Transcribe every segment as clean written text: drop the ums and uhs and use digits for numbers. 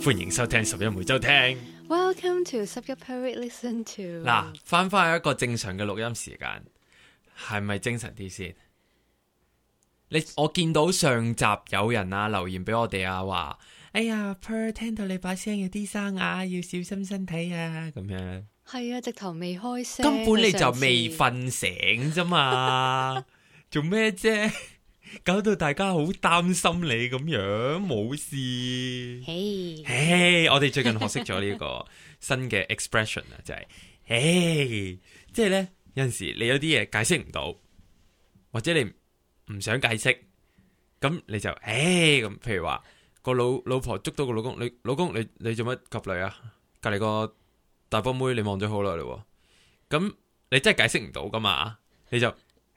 歡迎收聽十一每週聽。 Welcome to 十一 per week listen to。 嗱，翻一個正常嘅錄音時間，係咪精神啲先？我見到上集有人啊留言俾我哋啊，話哎呀 Per 聽到你把聲有啲沙啞，要小心身體啊，咁樣。 係啊，直頭未開聲， 根本你就未瞓醒啫嘛，做咩啫？搞到大家好擔心你咁樣，冇事。 嘿， 我哋最近學識咗呢個新嘅 expression 啊，就係，即係咧有陣時你有啲嘢解釋唔到，或者你唔想解釋，咁你就咁。譬如話個老婆捉到個老公，老公你做乜及女啊？隔籬個大波妹你望咗好耐嘞，咁你真係解釋唔到噶嘛？你就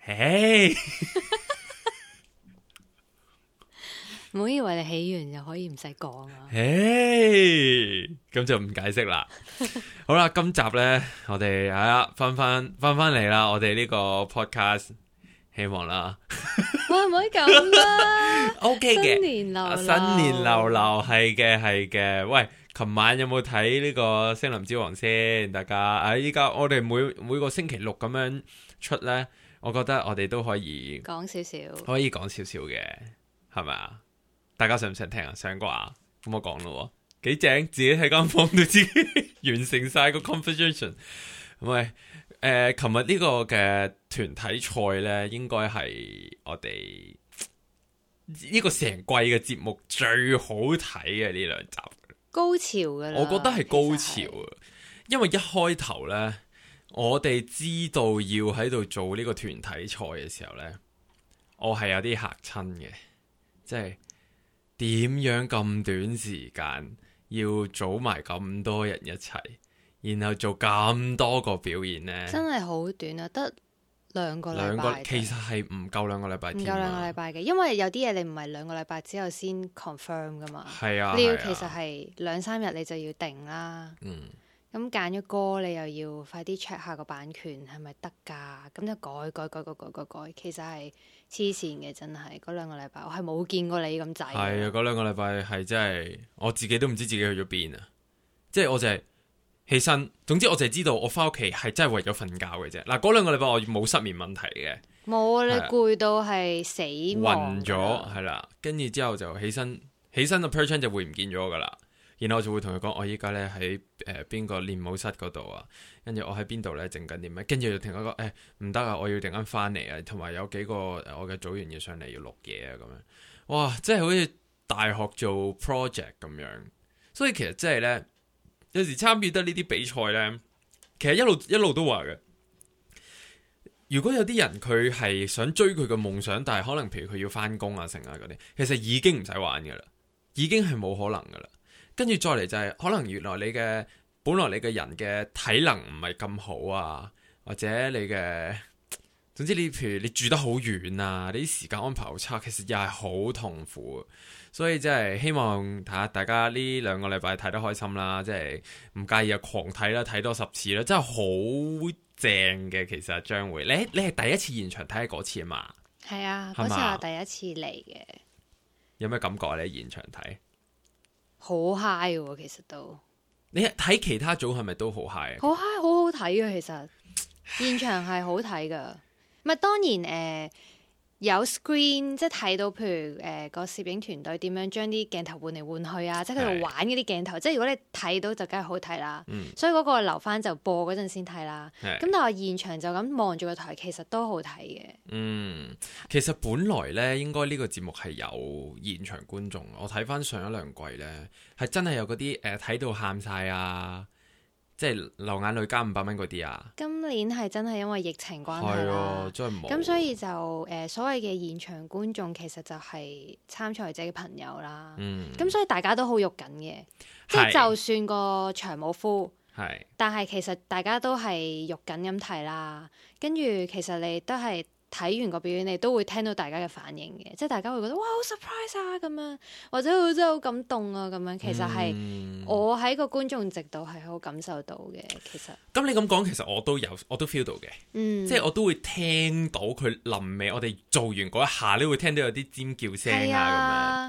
唔好以為你起完就可以唔使講啊！ 咁就唔解釋啦。好啦，今集呢，我哋翻嚟啦，我哋呢個 podcast 希望啦。 哇，唔可以咁啦 ，OK 嘅， 新年流流， 新年流流係嘅。喂，琴晚有冇睇呢個《聲林之王》先？大家依家我哋每個星期六咁樣出呢，我覺得我哋都可以講少少， 嘅，係咪啊？大家想唔想聽啊？想啩，咁我講咯，幾正，自己喺間房度自己完成晒個 conversation。喂，琴日呢個嘅團體賽呢，應該係我哋呢個成季嘅節目最好睇嘅呢兩集， 高潮噶啦， 我覺得係高潮啊！因為一開頭呢，我哋知道要喺度做呢個團體賽嘅時候呢，我係有啲嚇親嘅，即係。點樣咁短時間要組埋咁多人一齊，然後做咁多個表演呢？真係好短啊，得兩個禮拜。 其實係唔夠兩個禮拜， 唔夠兩個禮拜嘅，因為有啲嘢你唔係兩個禮拜之後先 confirm 噶嘛。 係啊， 你要其實係2-3日你就要定啦。咁揀咗歌，你又要快啲 check 下個版權係咪得㗎？咁就改，其實係黐線嘅，真係嗰兩個禮拜，我係冇見過你咁滯。係啊，嗰兩個禮拜係真係，我自己都唔知自己去咗邊啊！即係我就係起身，總之我就係知道我翻屋企係真係為咗瞓覺嘅啫。嗱，嗰兩個禮拜我冇失眠問題嘅， 冇啊！你攰到係死暈咗，係啦，跟住之後就起身個 Per 就會唔見咗㗎啦。然後我就會同佢講，我依家咧喺邊個練舞室嗰度啊，跟住我喺邊度咧整緊啲咩，跟住就同佢講唔得啊，我要突然間翻嚟啊，同埋有幾個我嘅組員要上嚟要錄嘢啊咁樣，哇，真係好似大學做 project 咁樣，所以其實真係咧，有時參與得呢啲比賽咧，其實一路都話嘅，如果有啲人佢係想追佢嘅夢想，但係可能譬如佢要翻工啊成啊嗰啲，其實已經唔使玩噶啦，已經係冇可能噶啦。跟住再嚟就係可能原來本來你嘅人嘅體能唔係咁好啊，或者你嘅，總之你譬如你住得好遠啊，你啲時間安排好差，其實又係好痛苦。所以真係希望睇下大家呢兩個禮拜睇得開心啦，即係唔介意啊狂睇啦，睇多10次啦，真係好正嘅。其實將會你係第一次現場睇嗰次啊嘛？ 係啊，嗰次我第一次嚟嘅。有咩感覺啊？你喺現場睇？ 好 high 喎，其實都。 你睇其他組係咪都好 high 啊？ 好 high，好好睇啊！其實現場係好睇噶。咪當然有 screen， 即係睇到譬如個攝影團隊點樣將啲鏡頭換嚟換去啊，即係佢度玩嗰啲鏡頭。即係如果你睇到就梗係好睇啦。所以嗰個留翻就播嗰陣先睇啦。咁但係現場就咁望住個台，其實都好睇嘅。 其實本來咧應該呢個節目係有現場觀眾。我睇翻上一兩季咧，係真係有嗰啲睇到喊晒啊！即係流眼淚加500蚊嗰啲啊！ 今年係真係因為疫情關係啦， 真係冇。咁所以就所謂嘅現場觀眾其實就係參賽者嘅朋友啦。咁所以大家都好肉緊嘅，即係就算個場冇 full，但係其實大家都係肉緊咁睇啦。跟住其實你都係。睇完個表演，你都會聽到大家嘅反應嘅，即係大家會覺得哇好 surprise 啊咁樣，或者真係好感動啊咁樣。其實係我喺個觀眾席度係好感受到嘅。其實咁你咁講，其實我都 feel 到嘅，即係我都會聽到佢臨尾我哋做完嗰一下，你會聽到有啲尖叫聲啊咁樣。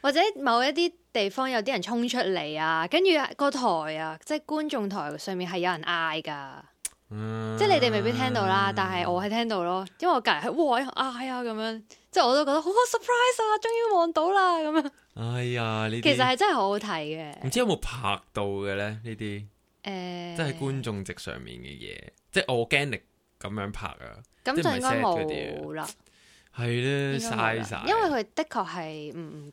或者某一啲地方有啲人衝出嚟啊，跟住個台啊，即係觀眾台上面係有人嗌噶。即係你哋未必聽到啦，但係我係聽到咯，因為我隔籬係哇嗌啊咁樣，即係我都覺得好 surprise 啊，終於望到啦咁樣。 哎呀，呢啲其實係真係好好睇嘅。 唔知有冇拍到嘅咧？呢啲即係觀眾席上面嘅嘢，即係 organic 咁樣拍啊。 咁就應該冇啦。 係咧，嘥晒。 因為佢的確係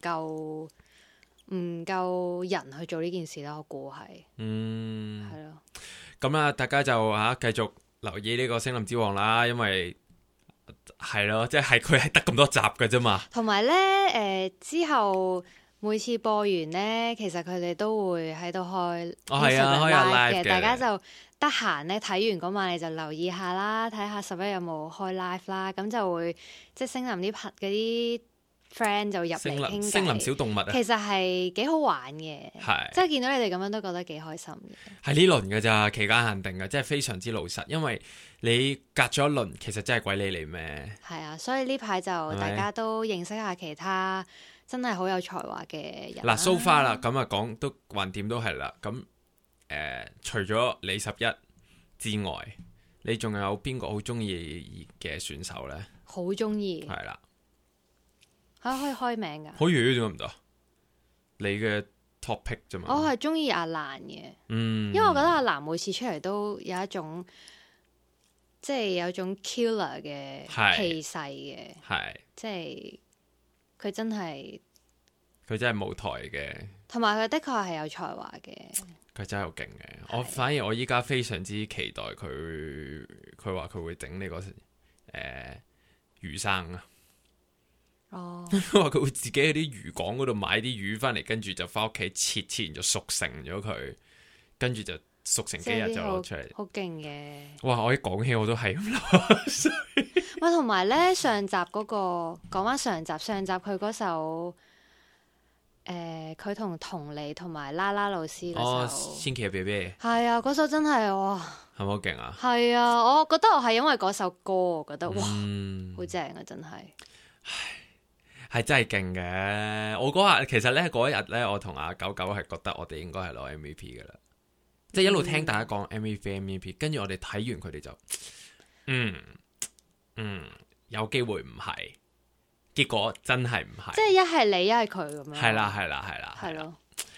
唔夠人去做呢件事啦，我估係。係咯。 咁啊，大家就繼續留意呢個《聲林之王》啦，因為係咯，即係佢係得咁多集嘅啫嘛。 同埋咧，之後每次播完咧，其實佢哋都會喺度開係啊，開 live 嘅， 大家就得閒咧睇完嗰晚，你就留意下啦，睇下11有冇開 live 啦，咁就會即係聲林啲啲 friend 就入嚟傾偈。聲林小動物啊，其實係幾好玩嘅，即係見到你哋咁樣都覺得幾開心嘅。 係呢輪嘅咋，期間限定嘅，即係非常之老實，因為你隔咗一輪，其實真係鬼理你咩？ 係啊，所以呢排就大家都認識下其他真係好有才華嘅人。 嗱，so far啦，咁啊講都橫掂都係啦。咁除咗李11之外，你仲有邊個好中意嘅選手咧？ 好中意係啦。 可以開名噶？ 可以，點解唔得？你嘅 topic 啫嘛。 我係中意阿蘭嘅，因為我覺得阿蘭每次出嚟都有一種，即係有種 killer 嘅氣勢嘅，係即係佢真係舞台嘅，同埋佢的確係有才華嘅。 佢真係好勁嘅，我反而我依家非常之期待佢話佢會整呢個魚生啊。哦，話佢會自己喺啲魚港嗰度買啲魚翻嚟，跟住就翻屋企切完就熟成咗佢，跟住就熟成幾日就攞出嚟，好勁嘅。哇！我一講起我都係咁諗。 喂，同埋咧上集嗰個講翻上集佢嗰首佢同佟麗同埋啦啦老師嗰首千祈別別， 係啊，嗰首真係哇， 係咪好勁啊？ 係啊，我覺得我係因為嗰首歌，我覺得哇，好正啊，真係。 係真係勁嘅，我嗰日其實咧嗰一日咧，我同阿九九係覺得我哋應該係攞 MVP 噶啦，即係一路聽大家講 MVP， 跟住我哋睇完佢哋就，有機會唔係，結果真係唔係， 即係一係你一係佢咁樣， 係啦，係咯。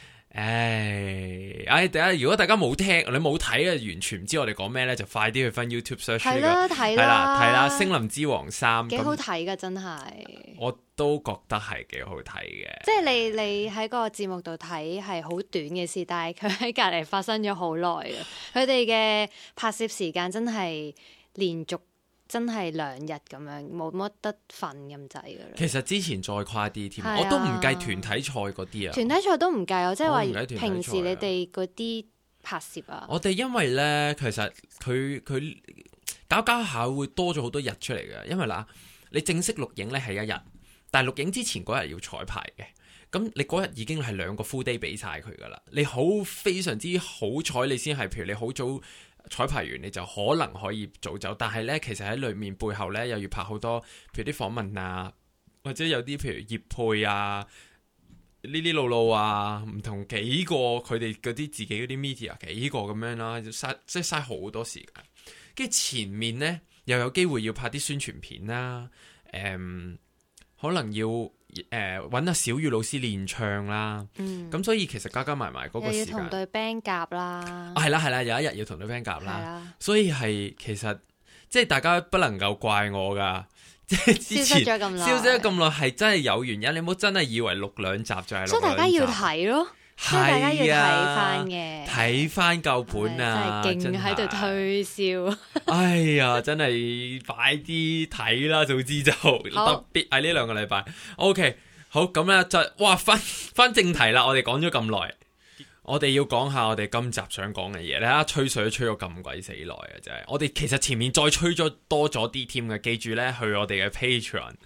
如果大家冇聽，你冇睇嘅，完全唔知我哋講咩咧，就快啲去翻 YouTube search 係啦，睇啦， 《聲林之王3》 幾好睇噶，真係。 我都覺得係幾好睇嘅。 即係你喺個節目度睇係好短嘅事，但係佢喺隔籬發生咗好耐嘅。佢哋嘅拍攝時間真係連續。真係2日咁樣，冇乜得瞓咁滯噶啦。 其實之前再快啲添，我都唔計團體賽嗰啲啊。 團體賽都唔計，我即係話平時你哋嗰啲拍攝啊。 我哋因為咧，其實佢搞下會多咗好多日出嚟嘅，因為嗱，你正式錄影咧係1日，但係錄影之前嗰日要彩排嘅。咁你嗰日已經係2個 full day 俾晒佢噶啦。你非常之好彩，你先係譬如你好早。彩排完你就可能可以早走，但係呢，其實喺裏面背後呢，又要拍好多，譬如啲訪問啊，或者有啲譬如業配啊，呢路啊，唔同幾個佢哋嗰啲自己嗰啲 media 幾個咁樣啦，即係嘥好多時間。跟住前面呢，又有機會要拍啲宣傳片啦，可能要揾阿小雨老師練唱啦，咁所以其實加埋嗰個時間， 又要同隊 band 夾啦， 係啦，有一日要同隊 band 夾啦，所以係其實即係大家不能夠怪我噶，即係之前消失咗咁耐係真係有原因，你唔好真係以為錄2集就係錄2集， 所以大家要睇咯。所以大家要睇翻嘅， 睇翻舊本啊， 真係勁喺度推銷。 哎呀，真係快啲睇啦，早知就特別喺呢2個禮拜。OK， 好咁咧就哇翻正題啦，我哋講咗咁耐。我哋要講下我哋今集想講嘅嘢，你睇下吹水都吹咗咁鬼死耐啊！真係，我哋其實前面再吹咗多咗啲添嘅，記住咧去我哋嘅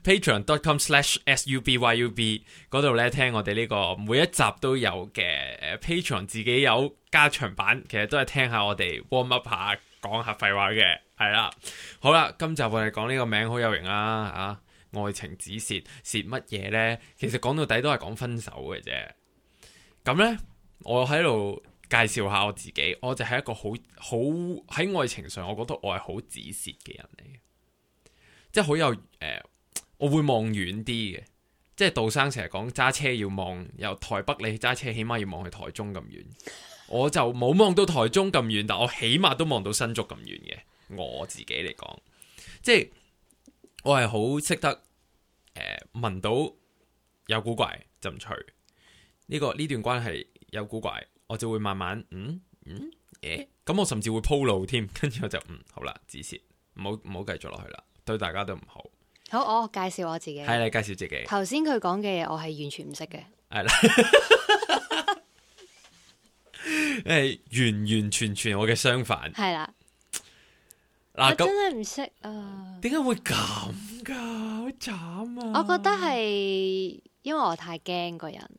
Patreon.com/SUBYUB 嗰度咧聽我哋呢個每一集都有嘅Patreon 自己有加長版，其實都係聽下我哋 warm up 下講下廢話嘅，係啦。好啦，今集我哋講呢個名好有型啦， 愛情只蝕乜嘢呢？其實講到底都係講分手嘅啫。咁呢，我喺度介紹下我自己，我就係一個好喺愛情上，我覺得我係好止蝕嘅人嚟嘅，即係好有我會望遠啲嘅。即係杜生成日講揸車要望由台北你揸車起碼要望去台中咁遠，我就冇望到台中咁遠，但我起碼都望到新竹咁遠嘅。我自己嚟講，即係我係好識得聞到有古怪就唔除呢段關係有古怪，我就會慢慢咁我甚至會鋪路添，跟住我就好啦，止蝕，唔好繼續落去啦，對大家都唔好。 好，我介紹我自己。 係你介紹自己。頭先佢講嘅嘢，我係完全唔識嘅。 係啦，完全我嘅相反。 係啦。 嗱， 我真係唔識啊。 點解會咁噶？好慘啊！ 我覺得係因為我太驚個人。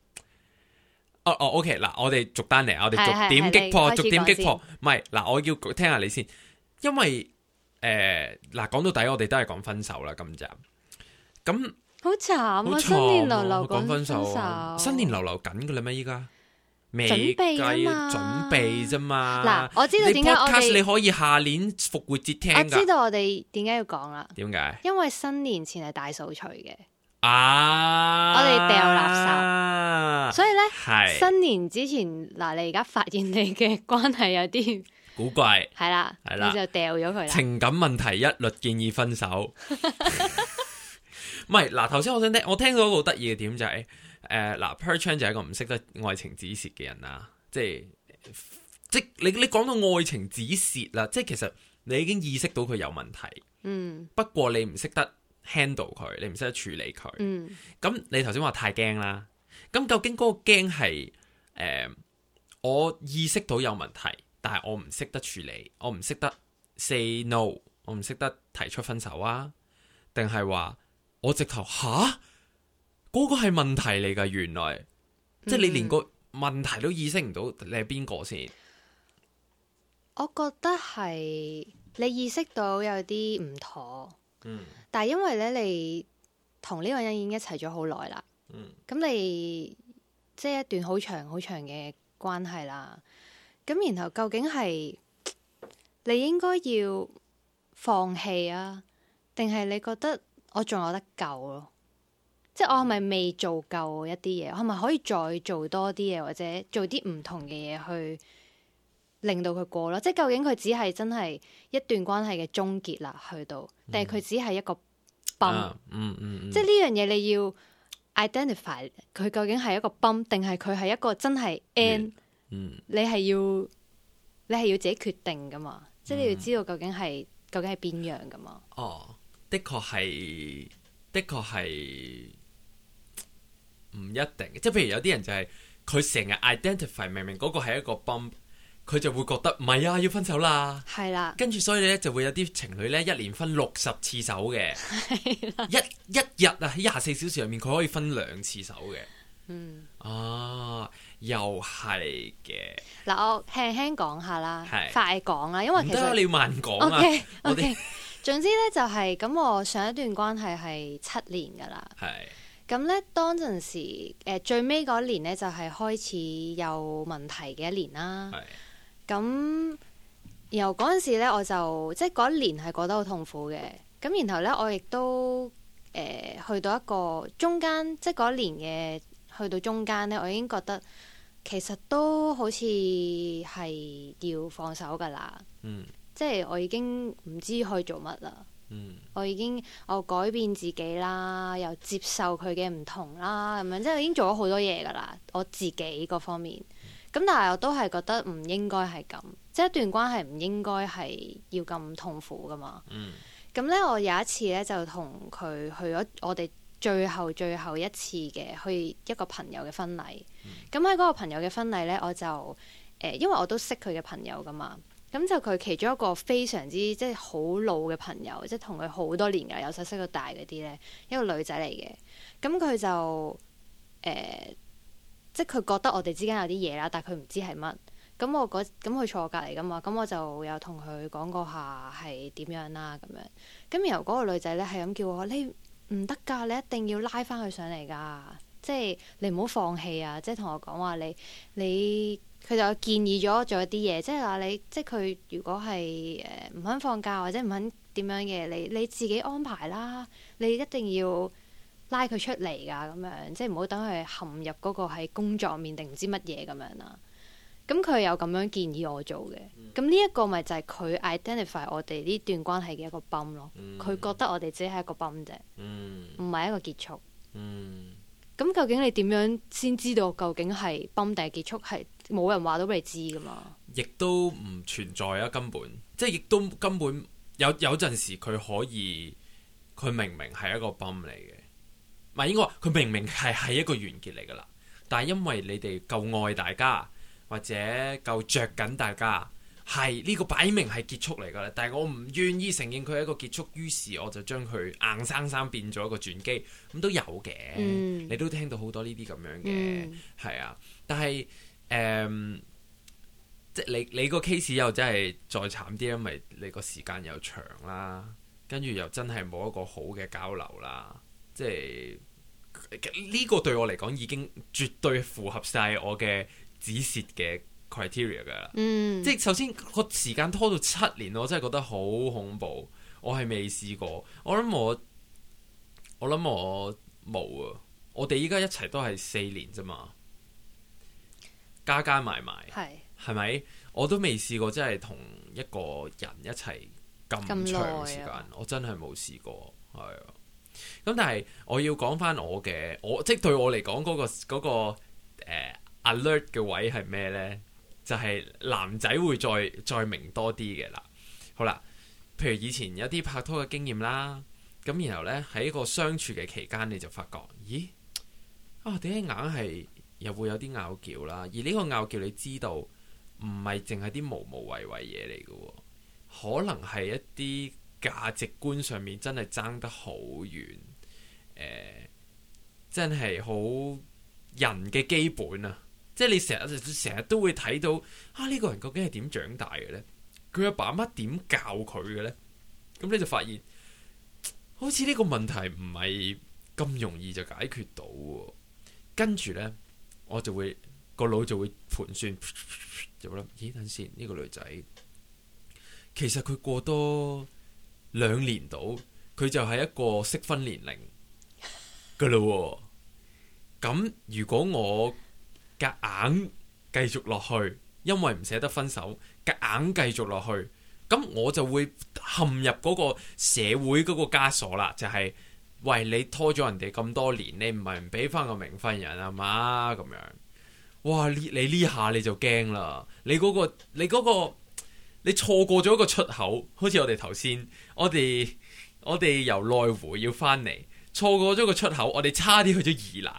OK， 嗱，我哋逐單嚟，我哋逐點擊破，逐點擊破。唔係，嗱，我要聽下你先，因為。嗱，講到底我哋都係講分手啦，今集咁好慘啊！新年流流講分手，新年流流緊噶啦咩？依家未準備準備啫嘛。 嗱，我知道點解我哋你可以下年復活節聽。 我知道我哋點解要講啦。 點解？ 因為新年前係大掃除嘅。 我哋掉垃圾，所以咧新年之前嗱，你而家發現你嘅關係有啲古怪， 係啦，你就掉咗佢啦。 情感問題一律建議分手。唔係嗱，頭先我聽到一個好得意嘅點就係嗱，Perchan 就係一個唔識得愛情止蝕嘅人啦。即你講到愛情止蝕啦，即係其實你已經意識到佢有問題。不過你唔識得 handle 佢，你唔識得處理佢。咁你頭先話太驚啦。咁究竟嗰個驚係我意識到有問題？但係我唔識得處理，我唔識得 say no， 我唔識得提出分手啊？定係話我直頭嗰個係問題嚟㗎？原來即係你連個問題都意識唔到，你係邊個先？ 我覺得係你意識到有啲唔妥，但係因為咧你同呢個人已經一齊咗好耐啦，咁你即係一段好長好長嘅關係啦。咁然後究竟係你應該要放棄啊，定係你覺得我仲有得救咯？即係我係咪未做夠一啲嘢？我係咪可以再做多啲嘢，或者做啲唔同嘅嘢去令到佢過咯？即係究竟佢只係真係一段關係嘅終結啦，去到，定係佢只係一個崩？即係呢樣嘢你要 identify 佢究竟係一個崩，定係佢係一個真係 end？你係要自己決定噶嘛？即係你要知道究竟係邊樣噶嘛？ 的確係唔一定。即係譬如有啲人就係佢成日 identify 明明嗰個係一個 bump， 佢就會覺得唔係啊，要分手啦。係啦，跟住所以咧就會有啲情侶咧一連分60次手嘅，一日啊喺24小時入面佢可以分2次手嘅。又係嘅。嗱， 我輕輕講下啦，快講啦，因為其實你要慢講啊。 OK，總之咧就係咁，我上一段關係係7年噶啦。咁咧當陣時最尾嗰年咧就係開始有問題嘅一年啦。咁然後嗰陣時咧我就即係嗰一年係過得好痛苦嘅。咁然後咧我亦都去到一個中間，即係嗰一年嘅。去到中間咧，我已經覺得其實都好似係要放手噶啦。即係我已經唔知可以做乜啦。我改變自己啦，又接受佢嘅唔同啦，咁樣即係我已經做咗好多嘢噶啦。我自己嗰方面，咁但係我都係覺得唔應該係咁，即係一段關係唔應該係要咁痛苦噶嘛。咁咧，我有一次咧就同佢去咗我哋最後一次嘅去一個朋友嘅婚禮。咁喺嗰個朋友嘅婚禮咧，我就因為我都識佢嘅朋友噶嘛，咁就佢其中一個非常之即係好老嘅朋友，即係同佢好多年噶，由細識到大嗰啲咧，一個女仔嚟嘅。咁佢就即係佢覺得我哋之間有啲嘢啦，但係佢唔知係乜。咁佢坐我隔離噶嘛，咁我就有同佢講過下係點樣啦咁樣。咁然後嗰個女仔咧係咁叫我， 唔得㗎，你一定要拉翻佢上嚟㗎，即係你唔好放棄啊！即係同我講話你佢就建議咗做一啲嘢，即係話你即係佢如果係唔肯放假或者唔肯點樣嘅，你自己安排啦，你一定要拉佢出嚟㗎咁樣，即係唔好等佢陷入嗰個係工作面定唔知乜嘢咁樣啦。咁佢有咁樣建議我做嘅，咁呢一個咪就係佢 identify 我哋呢段關係嘅一個泵咯。佢覺得我哋只係一個泵啫，唔係一個結束。咁究竟你點樣先知道究竟係泵定係結束？係冇人話到俾你知噶嘛？ 亦都唔存在啊，根本即係亦都根本有陣時佢可以，佢明明係一個泵嚟嘅，唔係應該話佢明明係一個完結嚟噶啦，但係因為你哋夠愛大家。或者夠着緊大家，係呢個擺明係結束嚟㗎啦。但係我唔願意承認佢係一個結束，於是我就將佢硬生生變咗一個轉機。咁都有嘅，你都聽到好多呢啲咁樣嘅，係啊。但係即係你個 case 又真係再慘啲，因為你個時間又長啦，跟住又真係冇一個好嘅交流啦。即係呢個對我嚟講已經絕對符合晒我嘅止蝕嘅 criteria 噶啦，即係首先個時間拖到7年，我真係覺得好恐怖。我係未試過，我諗我冇啊。我哋依家一齊都係4年啫嘛，加埋係咪？我都未試過真係同一個人一齊咁長時間，我真係冇試過，係啊。咁但係我要講翻我即係對我嚟講嗰個alert 嘅位係咩呢？就係男仔會再明多啲嘅啦。好啦，譬如以前有啲拍拖嘅經驗啦，咁然後呢，喺個相處嘅期間，你就發覺，咦點解硬係又會有啲拗撬啦？而呢個拗撬你知道唔係淨係啲無謂嘢嚟嘅，可能係一啲價值觀上面真係爭得好遠，真係好人嘅基本啊！即係你成日都會睇到呢個人究竟係點長大嘅呢？佢阿爸媽點教佢嘅呢？咁你就發現好似呢個問題唔係咁容易就解決到。跟住呢，我就會個腦就會盤算，就諗咦，等先，呢個女仔其實佢過多2年到，佢就係一個適婚年齡噶啦。咁如果我夾硬繼續落去，因為唔捨得分手，夾硬繼續落去，咁我就會陷入嗰個社會嗰個枷鎖啦。就係喂，你拖咗人哋咁多年，你唔係唔俾翻個名分人啊嘛？咁樣，哇！你呢下你就驚啦，你錯過咗一個出口，好似我哋頭先，我哋由內湖要翻嚟，錯過咗個出口，我哋差啲去咗宜蘭。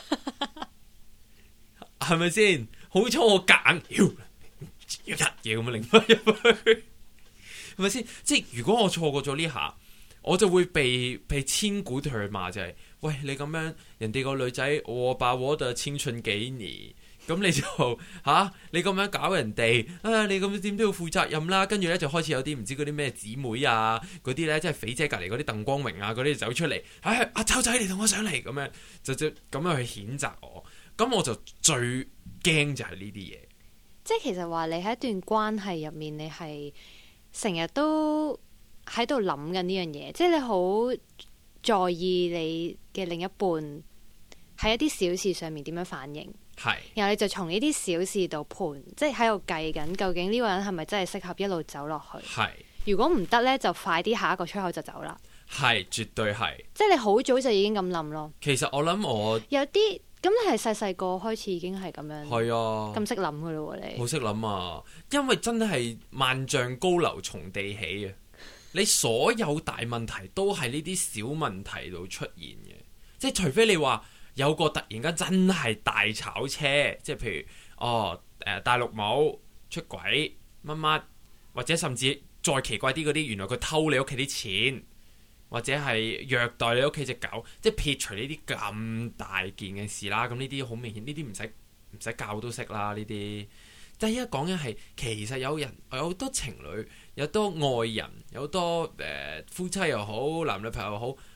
係咪先？好彩我夾硬要一嘢咁樣擰翻入去，係咪先？即係如果我錯過咗呢下，我就會被千古唾罵，就係喂，你咁樣，人哋個女仔我把我的青春給你，咁你就你咁樣搞人哋你咁點都要負責任啦。跟住咧就開始有啲唔知嗰啲咩姊妹啊，嗰啲咧即係肥姐隔籬嗰啲鄧光榮啊，嗰啲走出嚟，阿秋仔你同我上嚟，咁樣就咁樣去譴責我。咁我就最驚就係呢啲嘢， 即係其實話你喺一段關係入面，你係成日都喺度諗緊呢樣嘢，即係你好在意你嘅另一半喺一啲小事上面點樣反應，係，然後你就從呢啲小事度盤，即係喺度計緊究竟呢個人係咪真係適合一路走落去，係，如果唔得呢，就快啲下一個出口就走啦，係，絕對係，即係你好早就已經咁諗咯。其實我諗我有啲。咁你係細個開始已經係咁樣，係啊，咁識諗噶咯喎，你好識諗啊！因為真係萬丈高樓從地起啊！你所有大問題都係呢啲小問題度出現嘅，即係除非你話有個突然間真係大炒車，即係譬如大陸冇出軌乜乜，或者甚至再奇怪啲嗰啲，原來佢偷你屋企啲錢。或者係虐待你屋企隻狗，即係撇除呢啲咁大件嘅事啦。咁呢啲好明顯，呢啲唔使教都識啦。呢啲，但係而家講緊係其實有好多情侶，有多愛人，有多夫妻又好，男女朋友又好，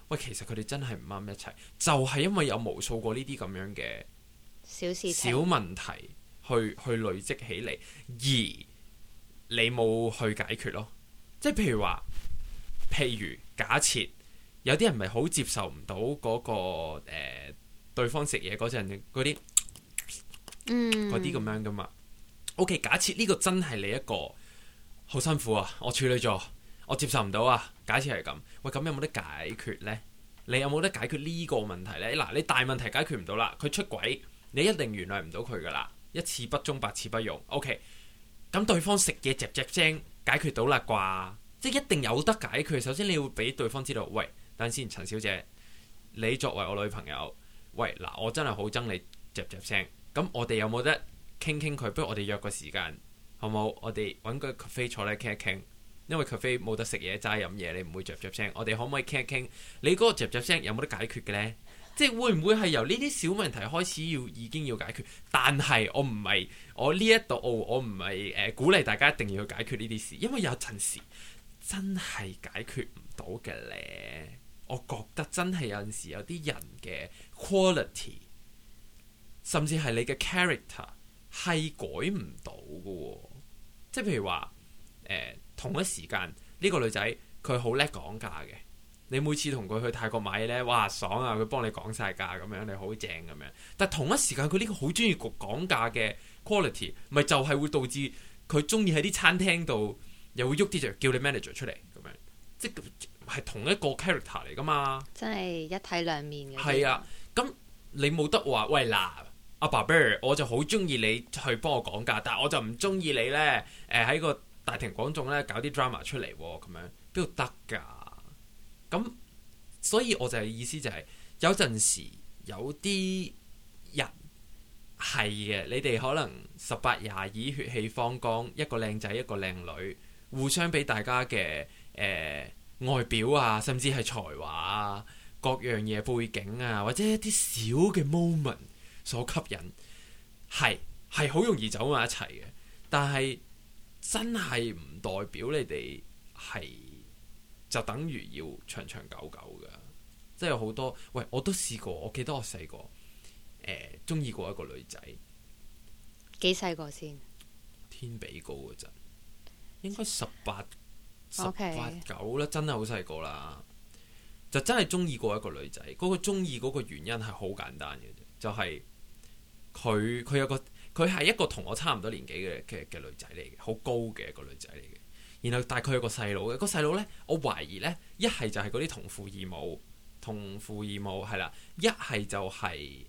喂，其實佢哋真係唔啱一齊，就係因為有無數個呢啲咁樣嘅小事情、 小問題去累積起嚟，而你冇去解決咯。即係譬如假設有啲人咪好接受唔到嗰個對方食嘢嗰陣嗰啲咁樣噶嘛。OK， 假設呢個真係你一個好辛苦啊，我處女座，我接受唔到啊。假設係咁，喂，咁有冇得解決呢？你有冇得解決呢個問題呢？嗱，你大問題解決唔到啦，佢出軌，你一定原諒唔到佢噶啦，一次不忠百次不容。OK， 咁對方食嘢嚼聲解決到啦啩？即係一定有得解決。首先你要俾對方知道，喂，等陣先，陳小姐，你作為我女朋友，喂，嗱，我真係好憎你嚼聲，咁我哋有冇得傾佢？不如我哋約個時間，好冇？我哋揾個 cafe 坐咧傾一傾。因為 cafe 冇得食嘢，齋飲嘢，你唔會嚼聲。我哋可唔可以傾一傾？你嗰個嚼聲有冇得解決嘅呢？即係會唔會係由呢啲小問題開始已經要解決？但係我唔係我呢一度，我唔係鼓勵大家一定要去解決呢啲事，因為有陣時真係解決唔到嘅咧。我覺得真係有陣時有啲人嘅 quality，甚至係你嘅 character 係改唔到嘅喎。即係譬如話同一時間呢個女仔佢好叻講價嘅，你每次同佢去泰國買嘢呢，哇爽啊！佢幫你講晒價咁樣，你好正咁樣。但同一時間佢呢個好中意講價嘅 quality， 咪就係會導致佢中意喺啲餐廳度又會喐啲就叫你 manager 出嚟咁樣，即係同一個 character 嚟噶嘛。真係一體兩面嘅。係啊，咁你冇得話喂嗱，阿爸 Bear， 我就好中意你去幫我講價，但係我就唔中意你呢，喺個大庭廣眾咧搞啲 drama 出嚟咁樣，邊度得㗎？咁所以我就係意思就係、是、有陣時有啲人係嘅，你哋可能18、22血氣方剛，一個靚仔一個靚女，互相俾大家嘅外表啊，甚至係才華啊，各樣嘢背景啊，或者一啲小嘅 moment 所吸引，係好容易走埋一齊嘅，但係真係唔代表你哋係就等於要長長久久㗎，即係有好多喂，我都試過，我記得我細個中意過一個女仔，幾細個先？天比高嗰陣，應該18、19啦，真係好細個啦，就真係中意過一個女仔。嗰個中意嗰個原因係好簡單嘅啫，就係佢有個。佢係一個同我差唔多年紀嘅女仔嚟嘅，好高嘅一個女仔嚟嘅。然後大概有個細佬嘅，個細佬呢，我懷疑呢，一係就係嗰啲同父異母係啦，一係就係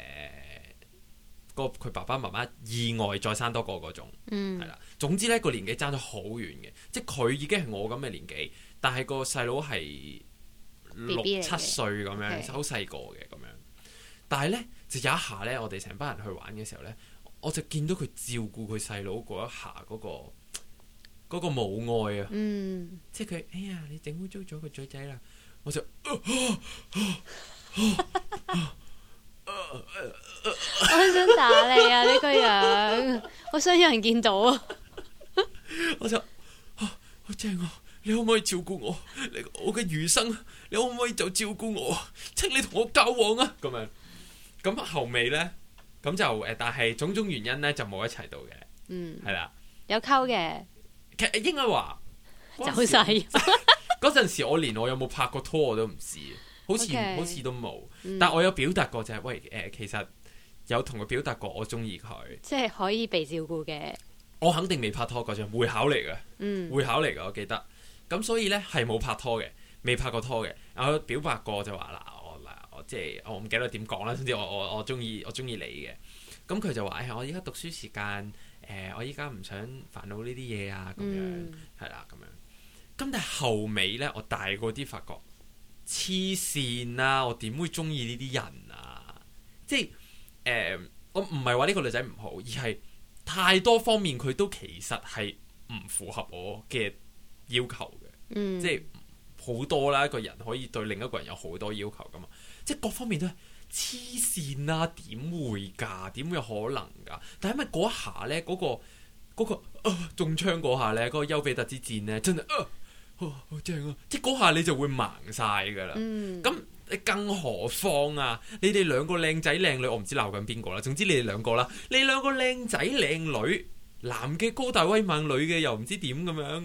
佢爸爸媽媽意外再生多個嗰種，係啦。總之呢個年紀爭咗好遠嘅，即係佢已經係我咁嘅年紀，但係個細佬係6、7歲咁樣，好細個嘅咁樣。但係呢，就有一下呢，我哋成班人去玩嘅時候呢，我就見到佢照顧佢細佬嗰一下嗰個母愛啊，即係佢哎呀你整污糟咗個嘴仔啦，我就我想打你啊！呢個樣，我想有人見到啊！我就好正啊！你可唔可以照顧我？我嘅餘生，你可唔可以就照顧我？請你同我交往啊！咁樣咁後尾呢。咁就但係種種原因咧就冇一齊到嘅，係啦，有溝嘅，其實應該話走晒嗰陣時，我連我有冇拍過拖我都唔知，好似都冇，但我有表達過就係喂其實有同佢表達過我中意佢，即係可以被照顧嘅。我肯定未拍拖嗰陣，會考嚟嘅，會考嚟嘅，我記得。咁所以咧係冇拍拖嘅，未拍過拖嘅。我表白過就話嗱。即係我唔記得點講啦，總之我中意你嘅，咁佢就話我依家讀書時間，我依家唔想煩惱呢啲嘢啊，咁樣係啦，咁樣。咁但係後尾咧，我大個啲發覺黐線啦，我點會中意呢啲人啊？即係我唔係話呢個女仔唔好，而係太多方面佢都其實係唔符合我嘅要求嘅，即係好多啦，一個人可以對另一個人有好多要求噶嘛。即係各方面都係黐線啦，點會㗎？點會有可能㗎？但係因為嗰一下咧，嗰個中槍嗰下咧，嗰個丘比特之箭咧，真係好正啊！即係嗰下你就會盲晒噶啦。咁你更何況啊？你哋兩個靚仔靚女，我唔知鬧緊邊個啦。總之你哋兩個啦，你兩個靚仔靚女，男嘅高大威猛，女嘅又唔知點咁樣。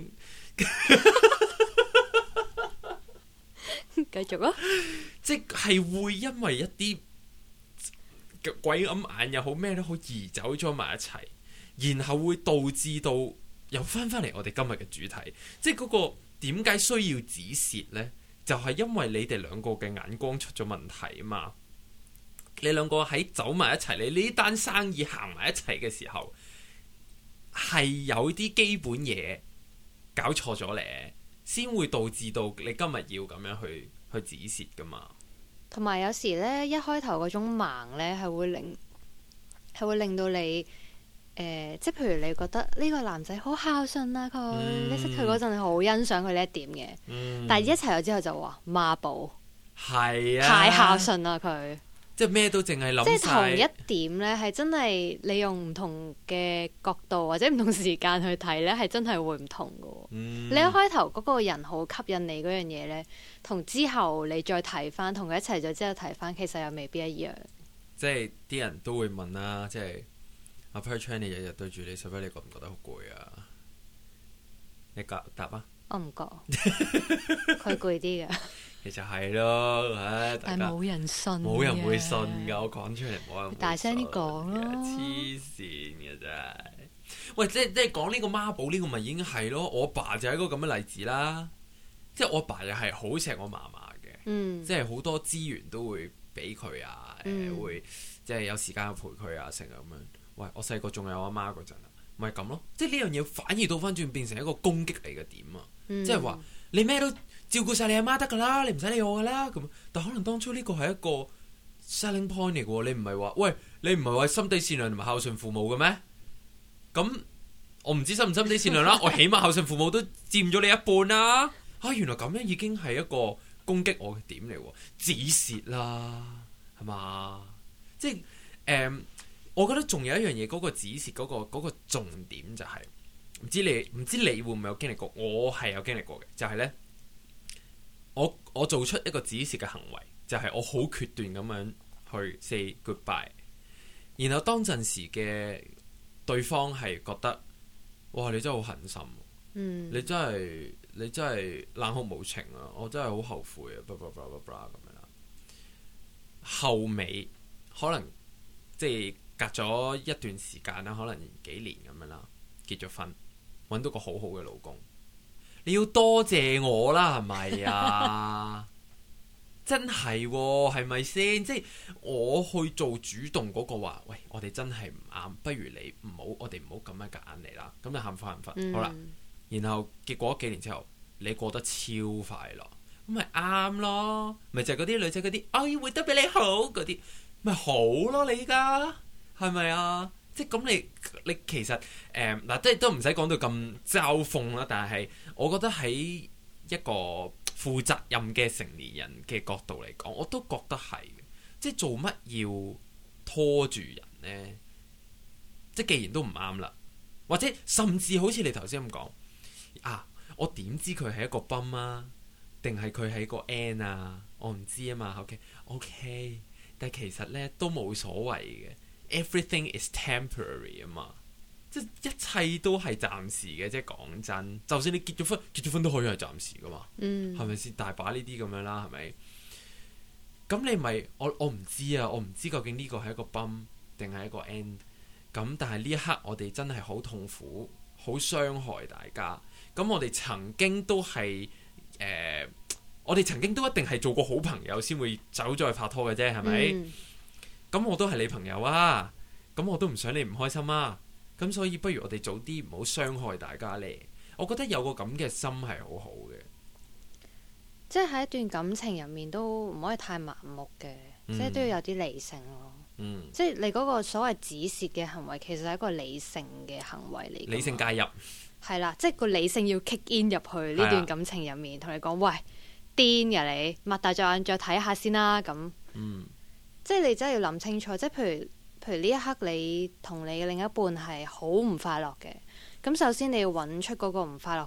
繼續啊！ 即係會因為一啲鬼揞眼又好咩都好，移走咗埋一齊，然後會導致到又翻嚟我哋今日嘅主題，即係嗰個點解需要止蝕呢？就係因為你哋兩個嘅眼光出咗問題啊嘛！你兩個喺走埋一齊，你呢單生意行埋一齊嘅時候，係有啲基本嘢搞錯咗咧，先會導致到你今日要咁樣去止蝕噶嘛。同埋有時呢，一開頭嗰種盲呢，係會令到你即係譬如你覺得呢個男仔好孝順啊，你識佢嗰陣你好欣賞佢呢一點嘅，但係一齊咗之後就話媽寶，係啊，太孝順啦佢，即係咩都淨係諗晒，即係同一點呢，係真係你用唔同嘅角度或者唔同時間去睇呢，係真係會唔同噶。你一開頭嗰個人好吸引你嗰樣嘢呢，同之後你再睇翻，同佢一齊咗之後睇翻，其實又未必一樣。即係啲人都會問啦，即係。阿 Perchan 你日日對住你，使唔使你覺唔覺得好攰啊？你答啊！我唔覺，佢攰啲㗎。其實係咯，但係冇人信，冇人會信㗎。我講出嚟冇人會信。大聲啲講咯！黐線嘅真係。喂，即係講呢個媽寶呢個咪已經係咯。我爸就係一個咁嘅例子啦。即係我爸又係好錫我嫲嫲嘅，即係好多資源都會俾佢啊，會即係有時間陪佢啊，成日咁樣。喂，我細個仲有阿媽嗰陣啊，咪咁咯，即係呢樣嘢反而倒翻轉變成一個攻擊嚟嘅點啊，即係話你咩都照顧晒你阿媽得噶啦，你唔使理我噶啦咁。但可能當初呢個係一個 selling point 嚟嘅喎，你唔係話喂，你唔係話心地善良同埋孝順父母嘅咩？咁我唔知心唔心地善良啦，我起碼孝順父母都佔咗你一半啦。原來咁樣已經係一個攻擊我嘅點嚟喎，止蝕啦，係嘛？即係我覺得仲有一樣嘢，嗰個止蝕嗰個重點就係唔知你會唔會有經歷過？我係有經歷過嘅，就係呢：我做出一個止蝕嘅行為，就係我好決斷咁樣去 say goodbye。然後當陣時嘅對方係覺得，哇！你真係好狠心，你真係冷酷無情啊！我真係好後悔啊！咁樣啦。後尾可能即係。隔咗一段時間啦，可能幾年咁樣啦，結咗婚，揾到個好好嘅老公，你要多謝我啦，係咪啊？真係喎，係咪先？即係我去做主動嗰個話，喂，我哋真係唔啱，不如你唔好，我哋唔好咁樣夾硬嚟啦。咁就喊翻好啦。然後結果幾年之後，你過得超快樂，咁咪啱咯？咪就係嗰啲女仔嗰啲，我要活得比你好嗰啲，咪好咯？你依家。係咪啊？即係咁你其實嗱，即係都唔使講到咁嘲諷啦。但係我覺得喺一個負責任嘅成年人嘅角度嚟講，我都覺得係嘅。即係做乜要拖住人呢？即係既然都唔啱啦，或者甚至好似你頭先咁講啊，我點知佢係一個泵啊，定係佢係一個 N 啊？我唔知啊嘛。OK， 但係其實呢都冇所謂嘅。Everything is temporary 啊嘛，即係一切都係暫時嘅。即係講真，就算你結咗婚都可以係暫時噶嘛，係咪先？大把呢啲咁樣啦，係咪？咁你咪我唔知啊，我唔知究竟呢個係一個 bump 定係一個 end。咁但係呢一刻我哋真係好痛苦，好傷害大家。咁我哋曾經都係我哋曾經都一定係做過好朋友先會走咗去拍拖嘅啫，係咪？咁我都係你朋友啊，咁我都唔想你唔開心啊，咁所以不如我哋早啲唔好傷害大家咧。我覺得有個咁嘅心係好好嘅，即係喺一段感情入面都唔可以太盲目嘅，即係都要有啲理性咯。即係你嗰個所謂止蝕嘅行為，其實係一個理性嘅行為嚟。理性介入係啦，即係個理性要 kick in 入去呢段感情入面，同你講喂，癲㗎你，擘大隻眼再睇下先啦咁。即係你真係要諗清楚，即係譬如呢一刻你同你嘅另一半係好唔快樂嘅，咁首先你要揾出嗰個唔快樂嘅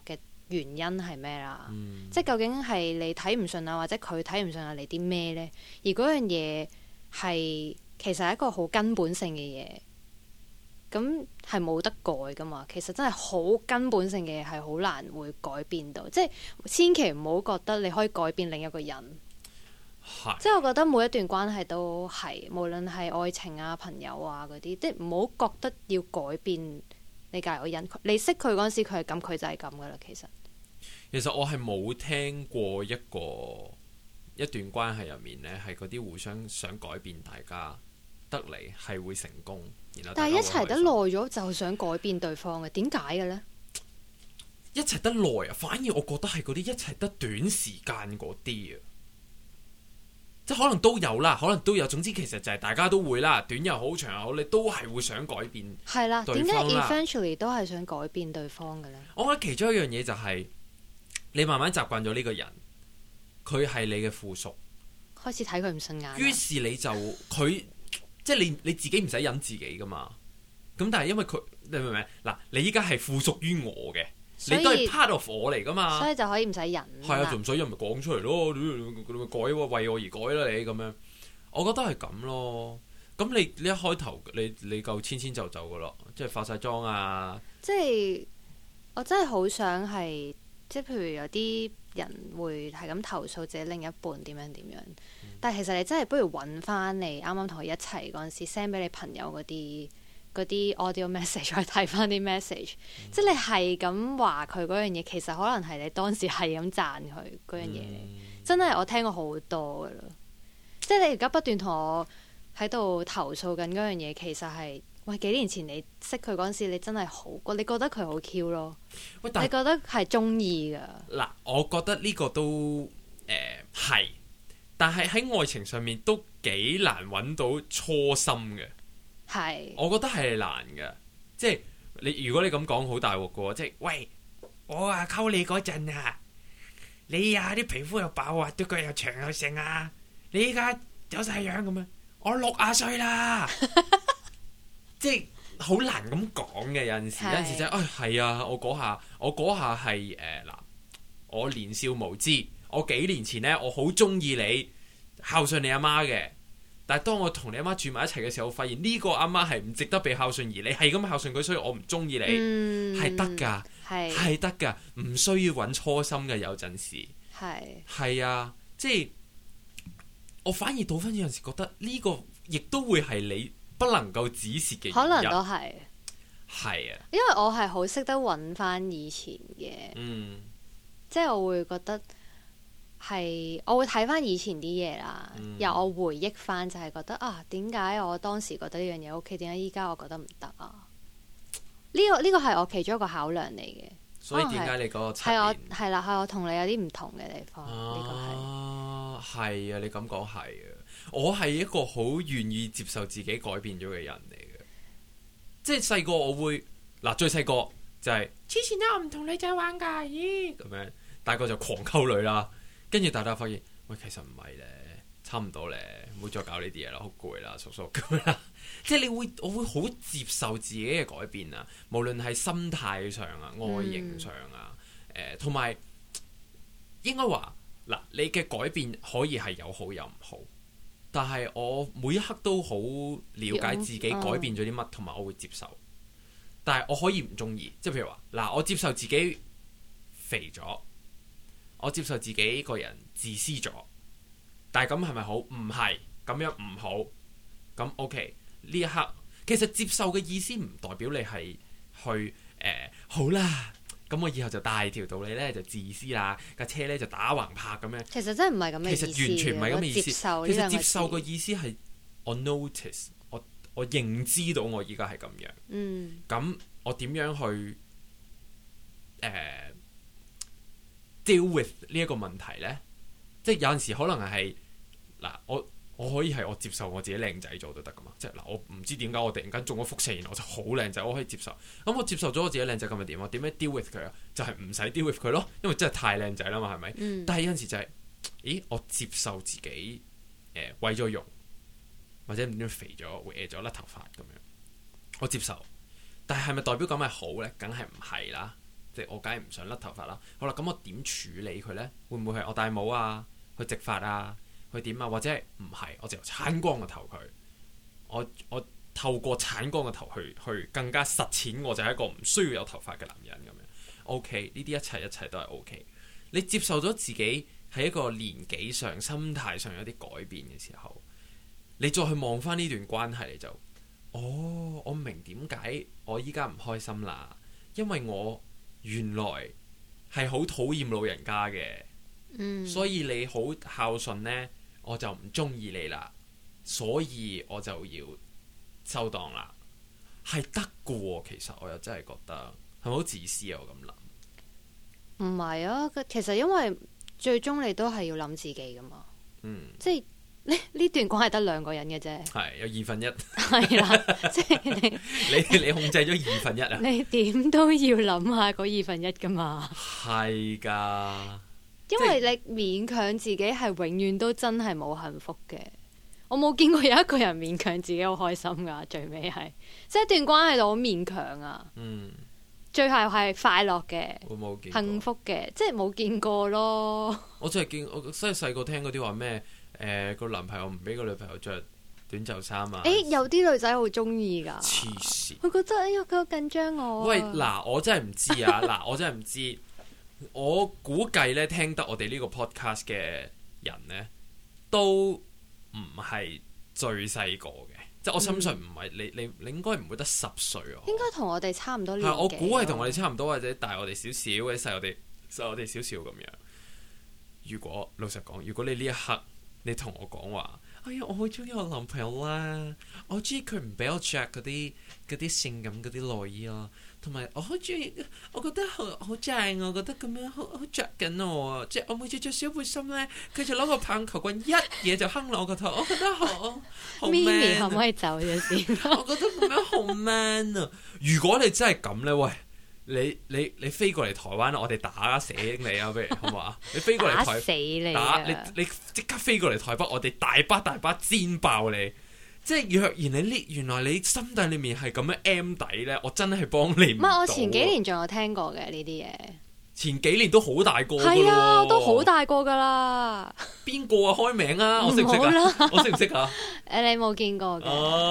原因係咩啦？即係究竟係你睇唔順啊，或者佢睇唔順啊，你啲咩呢？而嗰樣嘢係其實係一個好根本性嘅嘢，咁係冇得改噶嘛。其實真係好根本性嘅嘢係好難會改變到，即係千祈唔好覺得你可以改變另一個人。即係我覺得每一段關係都係，無論係愛情啊、朋友啊嗰啲，即係唔好覺得要改變你隔離個人。你識佢嗰陣時，佢係咁，佢就係咁噶啦。其實我係冇聽過一段關係入面呢，係嗰啲互相想改變大家得嚟係會成功， 但係一齊得耐咗就想改變對方嘅，點解嘅呢？ 一齊得耐啊，反而我覺得係嗰啲一齊得短時間嗰啲啊。即係可能都有啦，可能都有。總之其實就係大家都會啦，短又好，長又好，你都係會想改變。係啦，點解 eventually 都係想改變對方嘅咧？ 我覺得其中一樣嘢就係你慢慢習慣咗呢個人，佢係你嘅附屬， 開始睇佢唔順眼。 於是你就佢即係你自己唔使忍自己噶嘛。咁但係因為佢，你明唔明？嗱，你依家係附屬於我嘅。你都係 part of 我嚟噶嘛， 所以就可以唔使忍。 係啊，就唔使忍咪講出嚟咯，你咪改喎，為我而改啦你咁樣。我覺得係咁咯。咁你一開頭你夠遷就噶咯，即係化晒妝啊。 即係我真係好想係，即係譬如有啲人會係咁投訴自己另一半點樣，但係其實你真係不如揾翻你啱啱同佢一齊嗰陣時 send 俾你朋友嗰啲 audio message 再睇翻啲 message，即係你係咁話佢嗰樣嘢，其實可能係你當時係咁讚佢嗰樣嘢，真係我聽過好多噶啦。即係你而家不斷同我喺度投訴緊嗰樣嘢，其實係喂幾年前你識佢嗰陣時，你真係好，你覺得佢好 Q 咯，你覺得係中意噶。 嗱，我覺得呢個都係，但係喺愛情上面都幾難揾到初心嘅。 係， 我覺得係難嘅，即係你如果你咁講好大鑊嘅，即係喂我啊溝你嗰陣啊，你啊啲皮膚又爆啊，對腳又長又成啊，你依家有晒樣咁樣，我60歲啦，即係好難咁講嘅。有陣時就係啊，我嗰下係嗱，我年少無知，我幾年前呢，我好中意你，孝順你阿媽嘅。但係當我同你阿媽住埋一齊嘅時候，我發現呢個阿媽係唔值得被孝順，而你係咁孝順佢，所以我唔中意你，係得㗎，係得㗎，唔需要揾初心嘅。有陣時係啊，即係我反而倒翻有陣時覺得呢個亦都會係你不能夠止蝕嘅， 可能都係啊， 因為我係好識得揾翻以前嘅，即係我會覺得。係，我會睇翻以前啲嘢啦，由我回憶翻就係覺得啊，點解我當時覺得呢樣嘢 OK，點解依家我覺得唔得啊？呢個係我其中一個考量嚟嘅。 所以點解你嗰個係我係啦，係我同你有啲唔同嘅地方。呢個係啊，你咁講係啊，我係一個好願意接受自己改變咗嘅人嚟嘅。即係細個我會嗱，最細個就係之前我唔同女仔玩㗎，咦咁樣，大個就狂溝女啦。跟住大家發現，喂，其實唔係咧，差唔多咧，唔好再搞呢啲嘢啦，好攰啦，叔叔咁啦。即係我會好接受自己嘅改變啊，無論係心態上啊、外形上啊，同埋應該話嗱，你嘅改變可以係有好有唔好，但係我每一刻都好了解自己改變咗啲乜，同埋我會接受。但係我可以唔中意，即係譬如話嗱，我接受自己肥咗。我接受自己個人自私咗，但係咁係咪好？唔係，咁樣唔好。咁 OK，呢一刻其實接受嘅意思唔代表你係去好啦。咁我以後就大條道理咧就自私啦，架車咧就打橫拍咁樣。 其實真係唔係咁嘅意思。 其實完全唔係咁嘅意思。 接受其實接受嘅意思係我 notice，我認知到我依家係咁樣。咁我點樣去deal with 呢一個問題呢？即係有陣時可能係嗱，我可以係我接受我自己靚仔咗都得噶嘛。即係嗱，我唔知點解我突然間中咗輻射，然後我就好靚仔，我可以接受。咁我接受咗我自己靚仔咁咪點啊？點樣 deal with 佢啊？就係唔使 deal with 佢咯，因為真係太靚仔啦嘛，係咪？但係有陣時就係，咦？我接受自己毀咗容，或者唔知點肥咗、歪咗、甩頭髮咁樣，我接受。但係咪代表咁係好呢？梗係唔係啦。 即係我梗係唔想甩頭髮啦。好啦，咁我點處理佢呢？會唔會係我戴帽啊，去直髮啊，去點啊？或者係唔係我就鏟光個頭佢？我透過鏟光個頭去更加實踐，我就係一個唔需要有頭髮嘅男人咁樣。OK， 呢啲一切都係 OK。你接受咗自己喺一個年紀上、心態上有啲改變嘅時候，你再去望翻呢段關係，你就我明點解我依家唔開心啦，因為我原來係好討厭老人家嘅，所以你好孝順呢，我就唔中意你啦，所以我就要收檔啦，係得㗎喎。其實我又真係覺得係咪好自私啊？我咁諗。 唔係啊，其實因為最終你都係要諗自己噶嘛，即係呢段關係得兩個人嘅啫， 係有1/2， 係啦，即係你控制咗1/2啊， 你點都要諗下嗰1/2噶嘛， 係噶， 因為你勉強自己係永遠都真係冇幸福嘅，我冇見過有一個人勉強自己好開心噶，最尾係即係一段關係度好勉強啊，最後係快樂嘅，幸福嘅，即係冇見過咯。 我真係見，我真係細個聽嗰啲話咩？個男朋友唔俾個女朋友着短袖衫啊！ 有啲女仔好中意㗎。 黐線！ 佢覺得佢好緊張我。 喂，嗱，我真係唔知啊！嗱，我真係唔知。我估計咧，聽得我哋呢個 podcast 嘅人咧，都唔係最細個嘅。即係我深信唔係你應該唔會得10歲啊！ 應該同我哋差唔多年紀。 我估係同我哋差唔多，或者大我哋少少，或者細我哋少少咁樣。如果老實講，如果你呢一刻你同我講話，哎呀，我好中意我男朋友啦，我好中意佢唔俾我着嗰啲性感嗰啲內衣啊，同埋我好中意，我覺得好正，我覺得咁樣好着緊我啊！即係我每次着小背心咧，佢就攞個棒球棍一嘢就哼落我個頭，我覺得好 man 啊！ 可唔可以走咗先？ 我覺得咁樣好 man 啊！如果你真係咁咧，喂！你飛過嚟台灣，我哋打死你啊！不如好唔好啊？你飛過嚟打死你你即刻飛過嚟台北，我哋大把煎爆你！即係若然原來你心底裏面係咁樣 M 底咧，我真係幫你唔到。唔係， 我前幾年仲有聽過嘅呢啲嘢。 前幾年都好大個㗎喎。 係啊，都好大個㗎啦。邊個啊？開名啊！我識唔識啊？我識唔識啊？ 你冇見過嘅。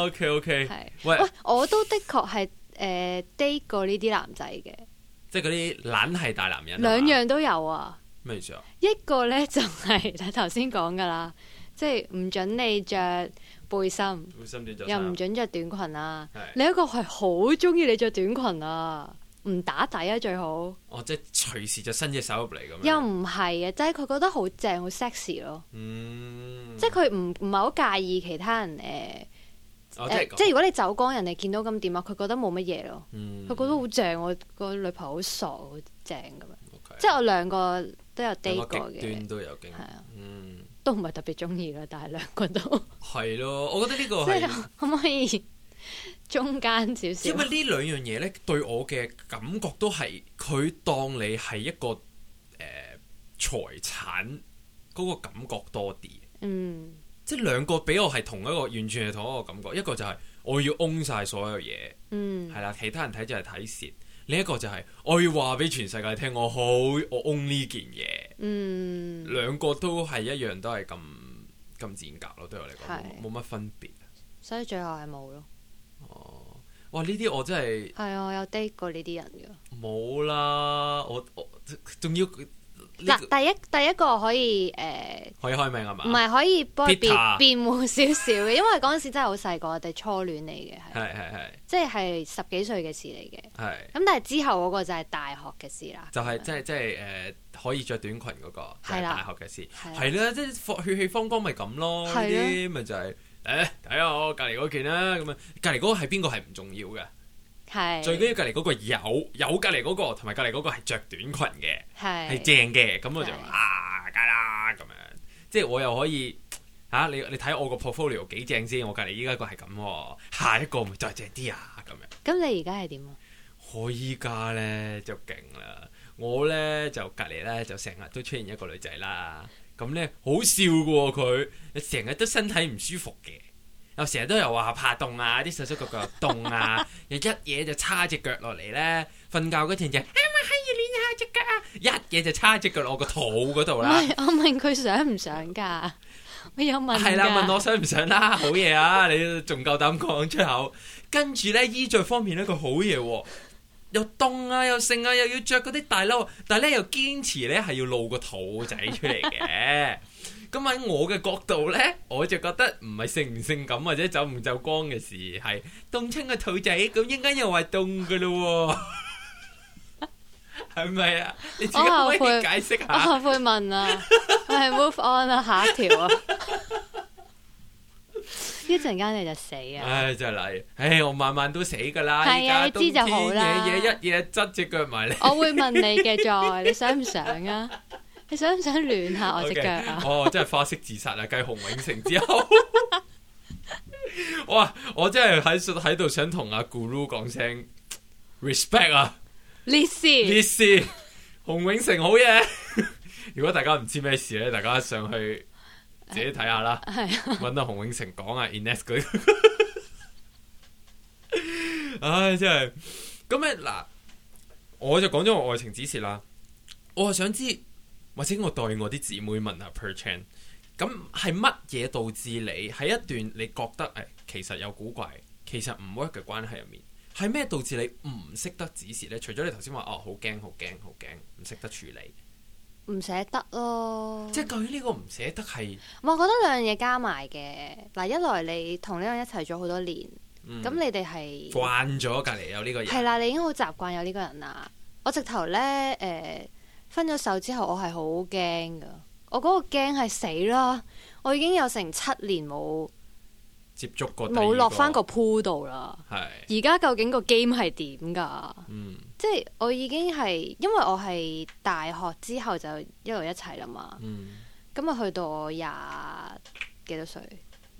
OK。 係。喂，我都的確係。date 過呢啲男仔嘅， 即係嗰啲懶係大男人， 兩樣都有啊。 咩意思啊？ 一個呢就係你頭先講噶啦，即係唔准你着背心，又唔准着短裙啊。另一個係好中意你着短裙啊，唔打底啊最好。 即係隨時就伸隻手入嚟咁樣。 又唔係啊，即係佢覺得好正，好 sexy 咯。即係佢唔係好介意其他人即係如果你走光，人哋見到咁點啊？佢覺得冇乜嘢咯，佢覺得好正，我個女朋友好傻，好正咁樣。即係我兩個都有 date 過嘅， 極端都有經歷， 都唔係特別中意啦，但係兩個都係咯。我覺得呢個係可唔可以中間少少？ 因為呢兩樣嘢咧，對我嘅感覺都係佢當你係一個財產嗰個感覺多啲。即係兩個俾我係完全係同一個感覺，一個就係我要 own 晒所有嘢，係啦，其他人睇就係睇蝕；另一個就係我要話俾全世界聽，我 own 呢件嘢。兩個都係一樣，都係咁賤格咯，對我嚟講冇乜分別。 所以最後係冇咯。 哇！呢啲我真係我有 date 過呢啲人㗎。 冇啦，我仲要。 第一個可以可以開名係嘛？ 唔係可以幫佢辯護少少嘅，因為嗰陣時真係好細個，我哋初戀嚟嘅，係即係10幾歲嘅事嚟嘅。咁但係之後嗰個就係大學嘅事啦。 就係即係可以着短裙嗰個係大學嘅事，係啦，即係血氣方剛咪咁咯。呢啲咪就係睇下我隔離嗰件啦。咁啊，隔離嗰個係邊個係唔重要嘅。最緊要隔離嗰個有隔離嗰個，同埋隔離嗰個係着短裙嘅，係正嘅，咁我就梗啦咁樣。即係我又可以你睇我個 portfolio 幾正先，我隔離依家個係咁，下一個咪再正啲啊咁樣。 咁你而家係點啊？ 我依家咧就勁啦，我咧就隔離咧就成日都出現一個女仔啦，咁咧好笑嘅喎，佢成日都身體唔舒服嘅。又成日都有話怕凍啊，啲手手腳腳凍啊，又一嘢就叉隻腳落嚟咧，瞓覺嗰陣就係熱隻腳啊，一嘢就叉隻腳落我個肚嗰度啦。 我問佢想唔想㗎？我有問㗎。 係啦，問我想唔想啦，好嘢啊！你仲夠膽講出口。跟住咧衣着方面咧，佢好嘢喎，又凍啊，又剩啊，又要着嗰啲大褸，但係咧又堅持咧係要露個肚仔出嚟嘅。咁喺我嘅角度咧，我就覺得唔係性唔性感或者走唔走光嘅事，係凍親個肚仔，咁應該又話凍噶咯喎，係咪啊？你自己可以解釋下。 我後悔問啊，我係 move on 啊，下一條啊，一陣間你就死啊！ 唉，真係嚟，唉，我晚晚都死噶啦， 係啊，你知就好啦。 夜夜一嘢執隻腳埋嚟。 我會問你嘅再，你想唔想啊？你想唔想暖下我隻腳啊？ 哦，真係花式自殺啊！繼洪永城之後，哇！我真係喺度想同阿 Guru 講聲 respect 啊！ 烈士， 洪永城好嘢。如果大家唔知咩事咧，大家上去自己睇下啦。係揾到洪永城講啊 Ines 佢。唉，真係咁咧嗱，我就講咗我愛情指示啦。我係想知。或者我代我啲姊妹問下 Per Chan， 咁係乜嘢導致你喺一段你覺得其實有古怪，其實唔 work 嘅關係入面，係咩導致你唔識得指示呢？除咗你頭先話好驚，唔識得處理，唔捨得咯。即係究竟呢個唔捨得係？ 我覺得兩樣嘢加埋嘅嗱，一來你同呢個人一齊咗好多年，咁你哋係慣咗隔離有呢個人， 係啦，你已經好習慣有呢個人啦。我直頭呢。分咗手之後，我係好驚噶。我嗰個驚係死啦！我已經有成7年冇接觸過， 冇落翻個鋪度啦。 係。 而家究竟個 game 係點噶？即係我已經係，因為我係大學之後就一路一齊啦嘛。咁啊，去到我廿幾多歲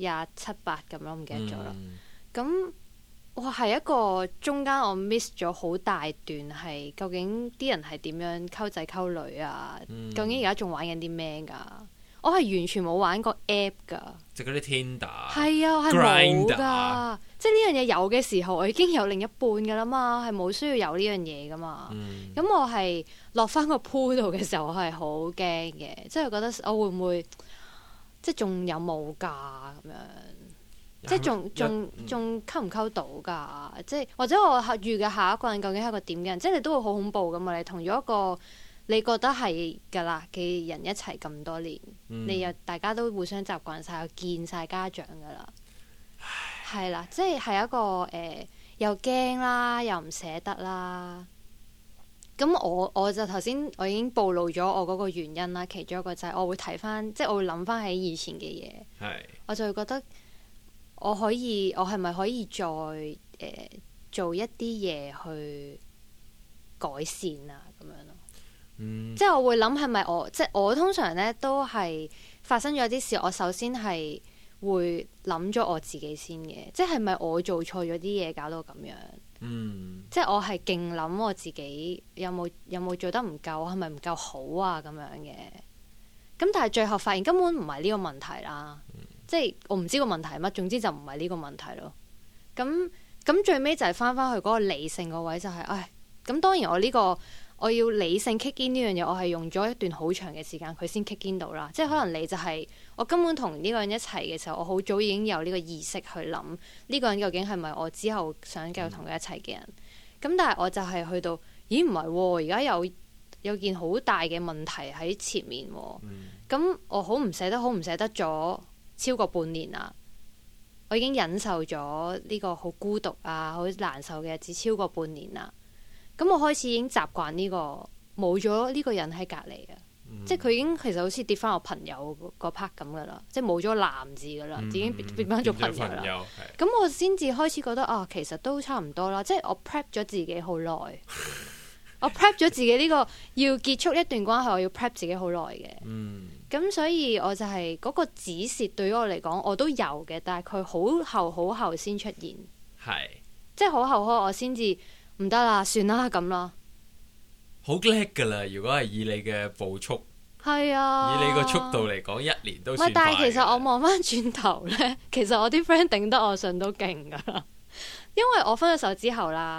，27、28咁咯，唔記得咗啦。咁。哇，係一個中間我 miss 咗好大段，係究竟啲人係點樣溝仔溝女啊？究竟而家仲玩緊啲咩㗎？我係完全冇玩過 app 㗎， 即係嗰啲 Tinder。 係啊，我係冇㗎。即係呢樣嘢有嘅時候，我已經有另一半㗎啦嘛，係冇需要有呢樣嘢㗎嘛。咁我係落翻個 pool 度嘅時候，我係好驚嘅，即係覺得我會唔會即係仲有冇㗎咁樣？即係仲溝唔溝到㗎？即係或者我遇嘅下一個人究竟係一個點嘅人？即係你都會好恐怖㗎嘛！你同咗一個你覺得係㗎啦嘅人一齊咁多年，你又大家都互相習慣晒，又見晒家長㗎啦，係啦，即係一個又驚啦，又唔捨得啦。咁我就頭先我已經暴露咗我嗰個原因啦，其中一個就係我會睇翻，即係我會諗翻起以前嘅嘢，我就會覺得。我係咪可以再做一啲嘢去改善啊？咁樣咯，即係我會諗係咪即係我通常咧都係發生咗啲事，我首先係會諗咗我自己先嘅，即係咪我做錯咗啲嘢搞到咁樣？即係我係勁諗我自己有冇做得唔夠，係咪唔夠好啊？咁樣嘅，咁但係最後發現根本唔係呢個問題啦。即係我唔知個問題係乜，總之就唔係呢個問題咯。咁最尾就係翻去嗰個理性個位，就係，咁當然我要理性 kick in 呢樣嘢，我係用咗一段好長嘅時間佢先 kick in 到啦。即係可能你就係我根本同呢個人一齊嘅時候，我好早已經有呢個意識去諗呢個人究竟係咪我之後想繼續同佢一齊嘅人。咁但係我就係去到，咦唔係喎，而家有件好大嘅問題喺前面喎。咁我好唔捨得咗。超過半年啦，我已經忍受咗呢個好孤獨啊、好難受嘅日子超過半年啦。咁我開始已經習慣呢個冇咗呢個人喺隔離啊，即係佢已經其實好似跌翻我朋友個 part 咁噶啦，即係冇咗男字噶啦，已經變翻做朋友啦。咁我先至開始覺得其實都差唔多啦，即係我 prep 咗自己好耐，我 prep 咗自己呢個要結束一段關係，我要 prep 自己好耐嘅。咁所以我就係嗰個指示對於我嚟講我都有嘅，但係佢好後先出現，即係好後我先至唔得啦，算啦咁啦。 好叻噶啦！如果係以你嘅步速， 係啊， 以你個速度嚟講，1年都算快。 但係其實我望翻轉頭咧，其實我啲 friend 頂得我順都勁噶啦，因為我分咗手之後啦，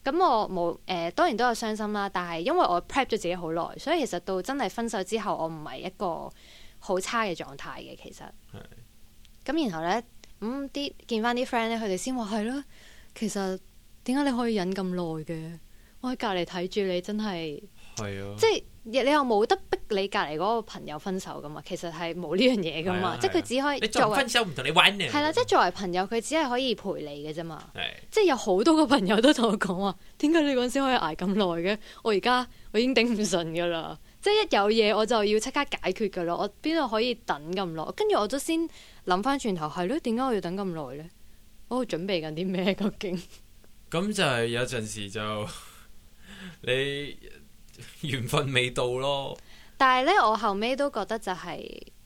咁我冇當然都有傷心啦，但係因為我 prep 咗自己好耐，所以其實到真係分手之後，我唔係一個好差嘅狀態嘅。其實咁然後咧啲見翻啲 friend 咧，佢哋先話係咯，其實點解你可以忍咁耐嘅？我喺隔離睇住你，真係即係你又冇得逼你隔離嗰個朋友分手噶嘛，其實係冇呢樣嘢噶嘛，即係佢只可以你作為分手唔同你玩嘅， 係啦，即係作為朋友佢只係可以陪你嘅啫嘛，即係有好多個朋友都同我講話，點解你嗰陣時可以捱咁耐嘅？我已經頂唔順噶啦，即係一有嘢我就要即刻解決噶啦，我邊度可以等咁耐？跟住我都先諗翻轉頭，係咯，點解我要等咁耐咧？我準備緊啲咩究竟？ 咁就係有陣時就你緣分未到咯。 但係咧，我後尾都覺得就係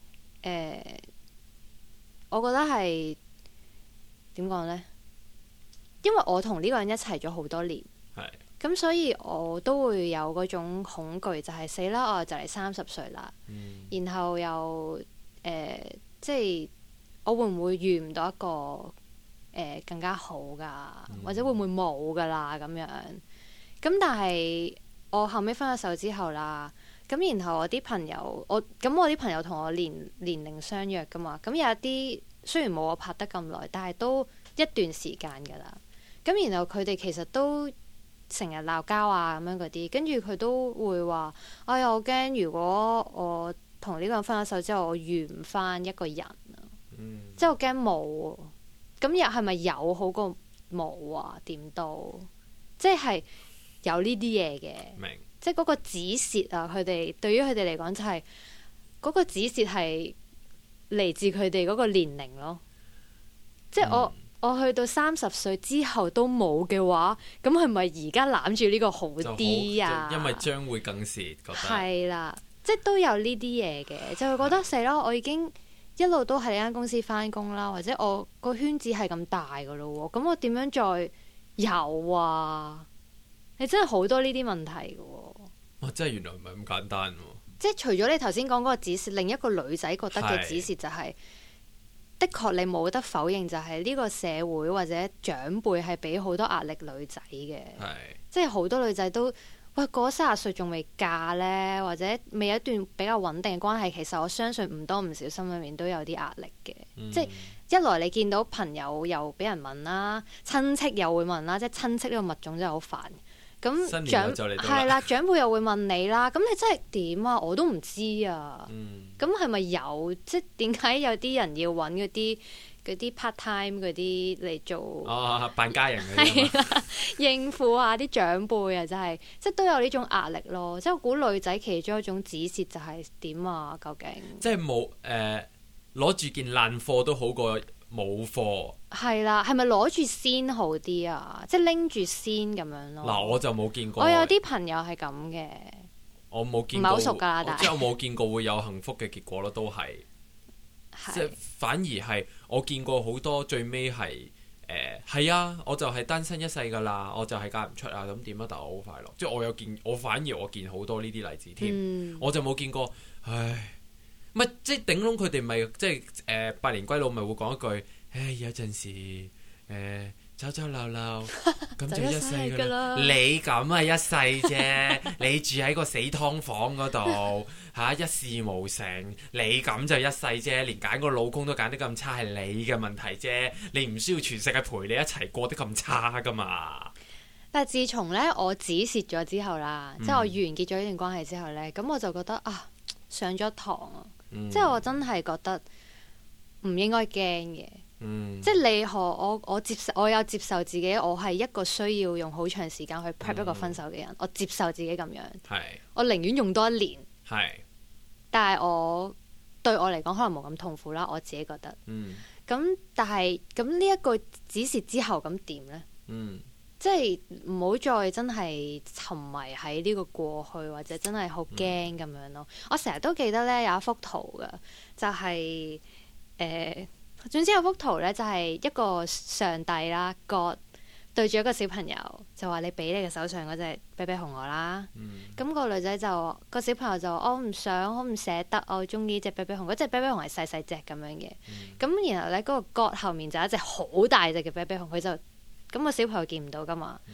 我覺得係點講咧？因為我同呢個人一齊咗好多年，咁所以我都會有嗰種恐懼，就係死啦！我就嚟30歲啦，然後又即係我會唔會遇唔到一個更加好噶，或者會唔會冇噶啦咁樣？咁但係我後尾分咗手之後啦，咁然後我啲朋友，我啲朋友同我年齡相約噶嘛，咁有一啲雖然冇我拍得咁耐，但係都一段時間噶啦。咁然後佢哋其實都成日鬧交啊咁樣嗰啲，跟住佢都會話：哎呀，我驚如果我同呢個人分咗手之後，我遇唔翻一個人啊，即係我驚冇。咁又係咪有好過冇啊？點都即係有呢啲嘢嘅，即係嗰個止蝕啊！佢哋對於佢哋嚟講就係嗰個止蝕係嚟自佢哋嗰個年齡咯。即係我去到30歲之後都冇嘅話，咁係咪而家攬住呢個好啲啊？ 因為將會更蝕，覺得係啦，即係都有呢啲嘢嘅，就會覺得死咯，我已經一路都喺呢間公司翻工啦，或者我個圈子係咁大噶咯，咁我點樣再有啊？你真係好多呢啲問題噶。 哇！真係原來唔係咁簡單。 即係除咗你頭先講嗰個指示，另一個女仔覺得嘅指示就係，的確你冇得否認，就係呢個社會或者長輩係俾好多壓力女仔嘅。即係好多女仔都喂過30歲仲未嫁呢，或者未有一段比較穩定嘅關係，其實我相信唔多唔少心裏面都有啲壓力嘅。即係一來你見到朋友又俾人問啦，親戚又會問啦，即係親戚呢個物種真係好煩。咁長係啦，長輩又會問你啦，咁你真係點啊？我都唔知啊。咁係咪有？即係點解有啲人要揾嗰啲 part time 嗰啲嚟做扮家人嗰啲係啦，應付下啲長輩啊，真係即係都有呢種壓力咯。即係我估女仔其中一種指示就係點啊？究竟即係冇攞住件爛貨都好過冇貨。 係啦，係咪攞住先好啲啊？即係拎住先咁樣咯。 嗱，我就冇見過。 我有啲朋友係咁嘅。 我冇見過， 唔係好熟㗎，但係即係我冇見過會有幸福嘅結果咯，都係。即係反而係我見過好多最尾係係啊，我就係單身一世㗎啦，我就係嫁唔出啊，咁點啊？但我好快樂，即係我反而我見好多呢啲例子添，我就冇見過，唉，唔係即係頂籠佢哋咪即係百年歸老咪會講一句，唉有陣時走走鬧鬧咁就一世㗎啦。你咁啊一世啫，你住喺個死劏房嗰度一事無成，你咁就一世啫，連揀個老公都揀得咁差係你嘅問題啫，你唔需要全世界陪你一齊過得咁差噶嘛。 但係自從咧我止蝕咗之後啦，即係我完結咗呢段關係之後咧，咁我就覺得啊上咗堂啊，即係我真係覺得唔應該驚嘅。即係你我有接受自己，我係一個需要用好長時間去 prep 一個分手嘅人，我接受自己咁樣，我寧願用多1年，但係對我嚟講可能冇咁痛苦啦，我自己覺得。咁但係咁呢一個止蝕之後咁點呢？即係唔好再真係沉迷喺呢個過去，或者真係好驚咁樣咯。我成日都記得咧有一幅圖㗎，就係總之有幅圖咧，就係一個上帝啦，God對住一個小朋友，就話你俾你嘅手上嗰隻啤啤熊我啦。咁個女仔就個小朋友就我唔想，我唔捨得，我中意隻啤啤熊。嗰隻啤啤熊係細細隻咁樣嘅。咁然後咧嗰個 God 後面就有一隻好大隻嘅啤啤熊，佢就咁個小朋友見唔到噶嘛。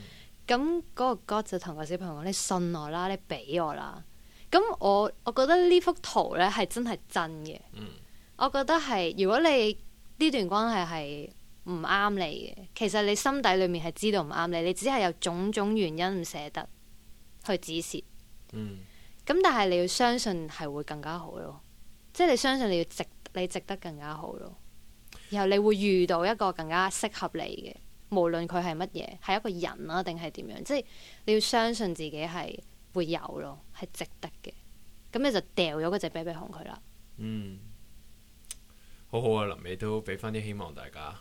咁嗰個 God 就同個小朋友講：你信我啦，你俾我啦。咁我覺得呢幅圖咧係真係真嘅。我覺得係如果你呢段關係係唔啱你嘅，其實你心底裏面係知道唔啱你，你只係有種種原因唔捨得去止蝕。咁但係你要相信係會更加好咯，即係你相信你值得更加好咯。然後你會遇到一個更加適合你嘅，無論佢係乜嘢，係一個人啊定係點樣，即係你要相信自己係會有咯，係值得嘅。咁你就掉咗嗰隻啤啤熊佢啦。 好好啊，臨尾都俾翻啲希望大家。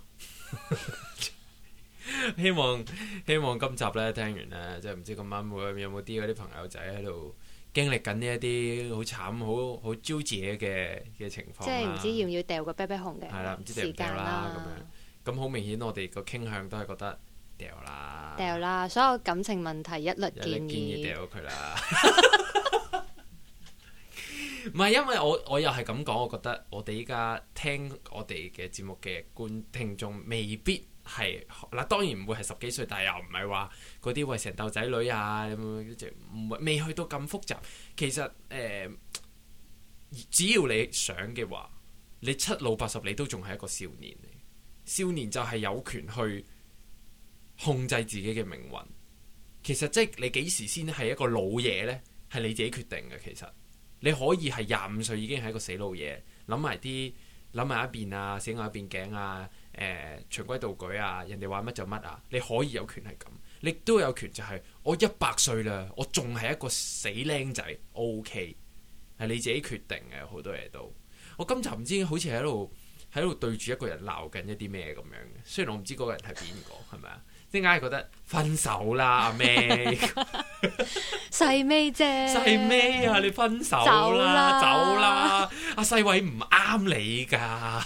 希望今集咧聽完咧，即係唔知咁啱有冇啲嗰啲朋友仔喺度經歷緊呢一啲好慘好焦灼嘅情況， 即係唔知要唔要掉個啤啤熊嘅係啦，唔知掉唔掉啦咁樣。咁好明顯，我哋個傾向都係覺得掉啦， 所有感情問題一律建議掉佢啦。唔係，因為我又係咁講，我覺得我哋依家聽我哋嘅節目嘅聽眾未必係嗱，當然唔會係10幾歲，但係又唔係話嗰啲為成竇仔女啊咁，未去到咁複雜。其實只要你想嘅話，你7老80你都仲係一個少年嚟。少年就係有權去控制自己嘅命運。其實即係你幾時先係一個老嘢呢？係你自己決定嘅。其實你可以係25歲已經係一個死老嘢，諗埋一邊啊，死我一邊頸啊，循規蹈矩啊，人哋話乜就乜啊，你可以有權係咁，你都有權就係我100歲啦，我仲係一個死僆仔 ，OK， 係你自己決定嘅，好多嘢都。我今集唔知好似喺度對住一個人鬧緊一啲咩咁樣嘅，雖然我唔知嗰個人係邊個，係咪啊？點解係覺得分手啦，阿咩？ 細咩啫？ 細咩啊？你分手啦，走啦！阿細偉唔啱你噶。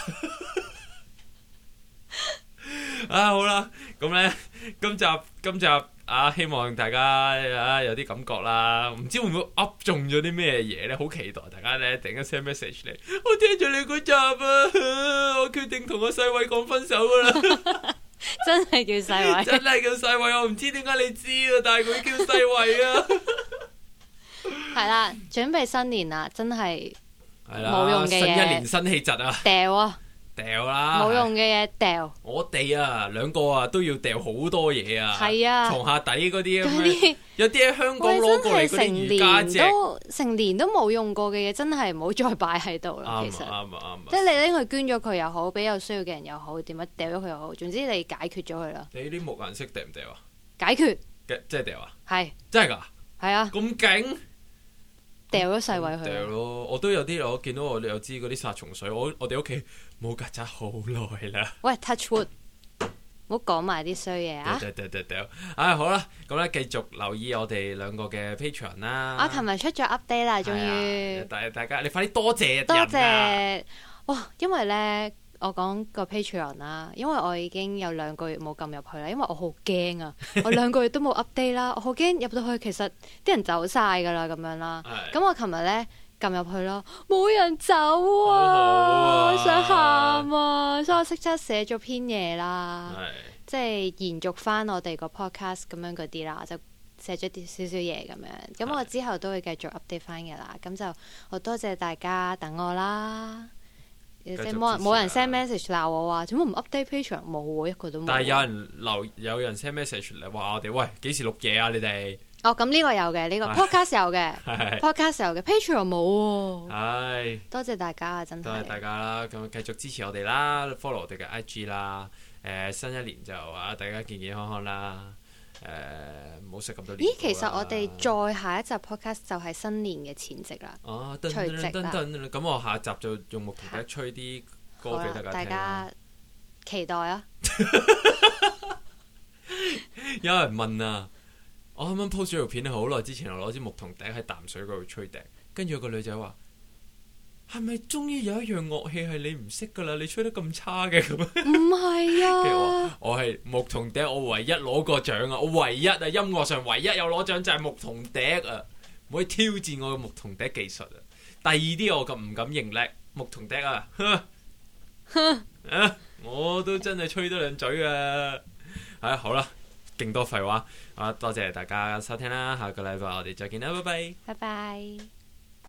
好啦，咁咧，今集啊，希望大家啊有啲感覺啦。唔知會唔會噏中咗啲咩嘢咧？好期待大家咧，突然間 send message 嚟，我聽咗你嗰集啊，我決定同阿細偉講分手噶啦。 真係叫細偉， 真係叫細偉，我唔知點解你知啊，但係佢叫細偉啊。 係啦，準備新年啦，真係係啦， 冇用嘅嘢， 新一年新氣質啊，掉啦， 冇用嘅嘢掉。 我哋啊兩個啊都要掉好多嘢啊， 係啊， 床下底嗰啲咁樣，有啲喺香港攞過嚟嗰啲瑜伽席， 成年都冇用過嘅嘢，真係唔好再擺喺度啦。其實啱， 即係你拎佢捐咗佢又好，俾有需要嘅人又好，點樣掉咗佢又好，總之你解決咗佢啦。 你啲木顏色掉唔掉啊？ 解決， 即係掉啊？ 係真係㗎？ 係啊， 咁勁！ 掉咗細偉去。 掉咯，我都有啲，我見到我哋有支嗰啲殺蟲水，我哋屋企冇曱甴好耐啦。 喂 ，touch wood， 唔好講埋啲衰嘢啊！ 掉，好啦，咁咧繼續留意我哋兩個嘅 Patreon 啦。 我琴日出咗 update 啦，終於。 大家你快啲多謝多謝哇！因為咧，我講個 Patreon 啦，因為我已經有2個月冇撳入去啦，因為我好驚啊！我2個月都冇 update 啦，我好驚入到去，其實啲人走晒噶啦，咁樣啦。咁我琴日咧撳入去咯，冇人走啊！我想喊啊！所以我即刻寫咗篇嘢啦，即係延續翻我哋個 podcast 咁樣嗰啲啦，就寫咗啲少少嘢咁樣。咁我之後都會繼續 update 翻嘅啦。咁就好多謝大家等我啦。即係冇人 send message 鬧我話做乜唔 update Patreon， 冇喎，一個都冇。 但係有人 send message 嚟話我哋，喂，幾時錄嘢啊？你哋咁呢個有嘅，呢個 podcast 有嘅，podcast 有嘅，Patreon 冇喎。 係多謝大家啊，真係多謝大家啦。咁繼續支持我哋啦 ，follow 我哋嘅 IG 啦。新一年就大家健健康康啦。唔好食咁多年。 咦，其實我哋再下一集 podcast 就係新年嘅前夕啦。除夕啦。 咁我下一集就用木頭笛吹啲歌俾大家期待啊！ 有人問啊，我啱啱 post 咗條片好耐之前，我攞支木桶笛喺淡水嗰度吹笛，跟住有個女仔話：係咪終於有一樣樂器係你唔識噶啦？你吹得咁差嘅咁？ 唔係啊！ 我係木桶笛，我唯一攞過獎啊！我唯一啊，音樂上唯一有攞獎就係木桶笛啊！唔可以挑戰我嘅木桶笛技術啊！第二啲我咁唔敢認叻，木桶笛啊！我都真係吹得兩嘴啊！好啦， 勁多廢話。多謝大家收聽啦，下個禮拜我哋再見啦，拜拜。 拜拜。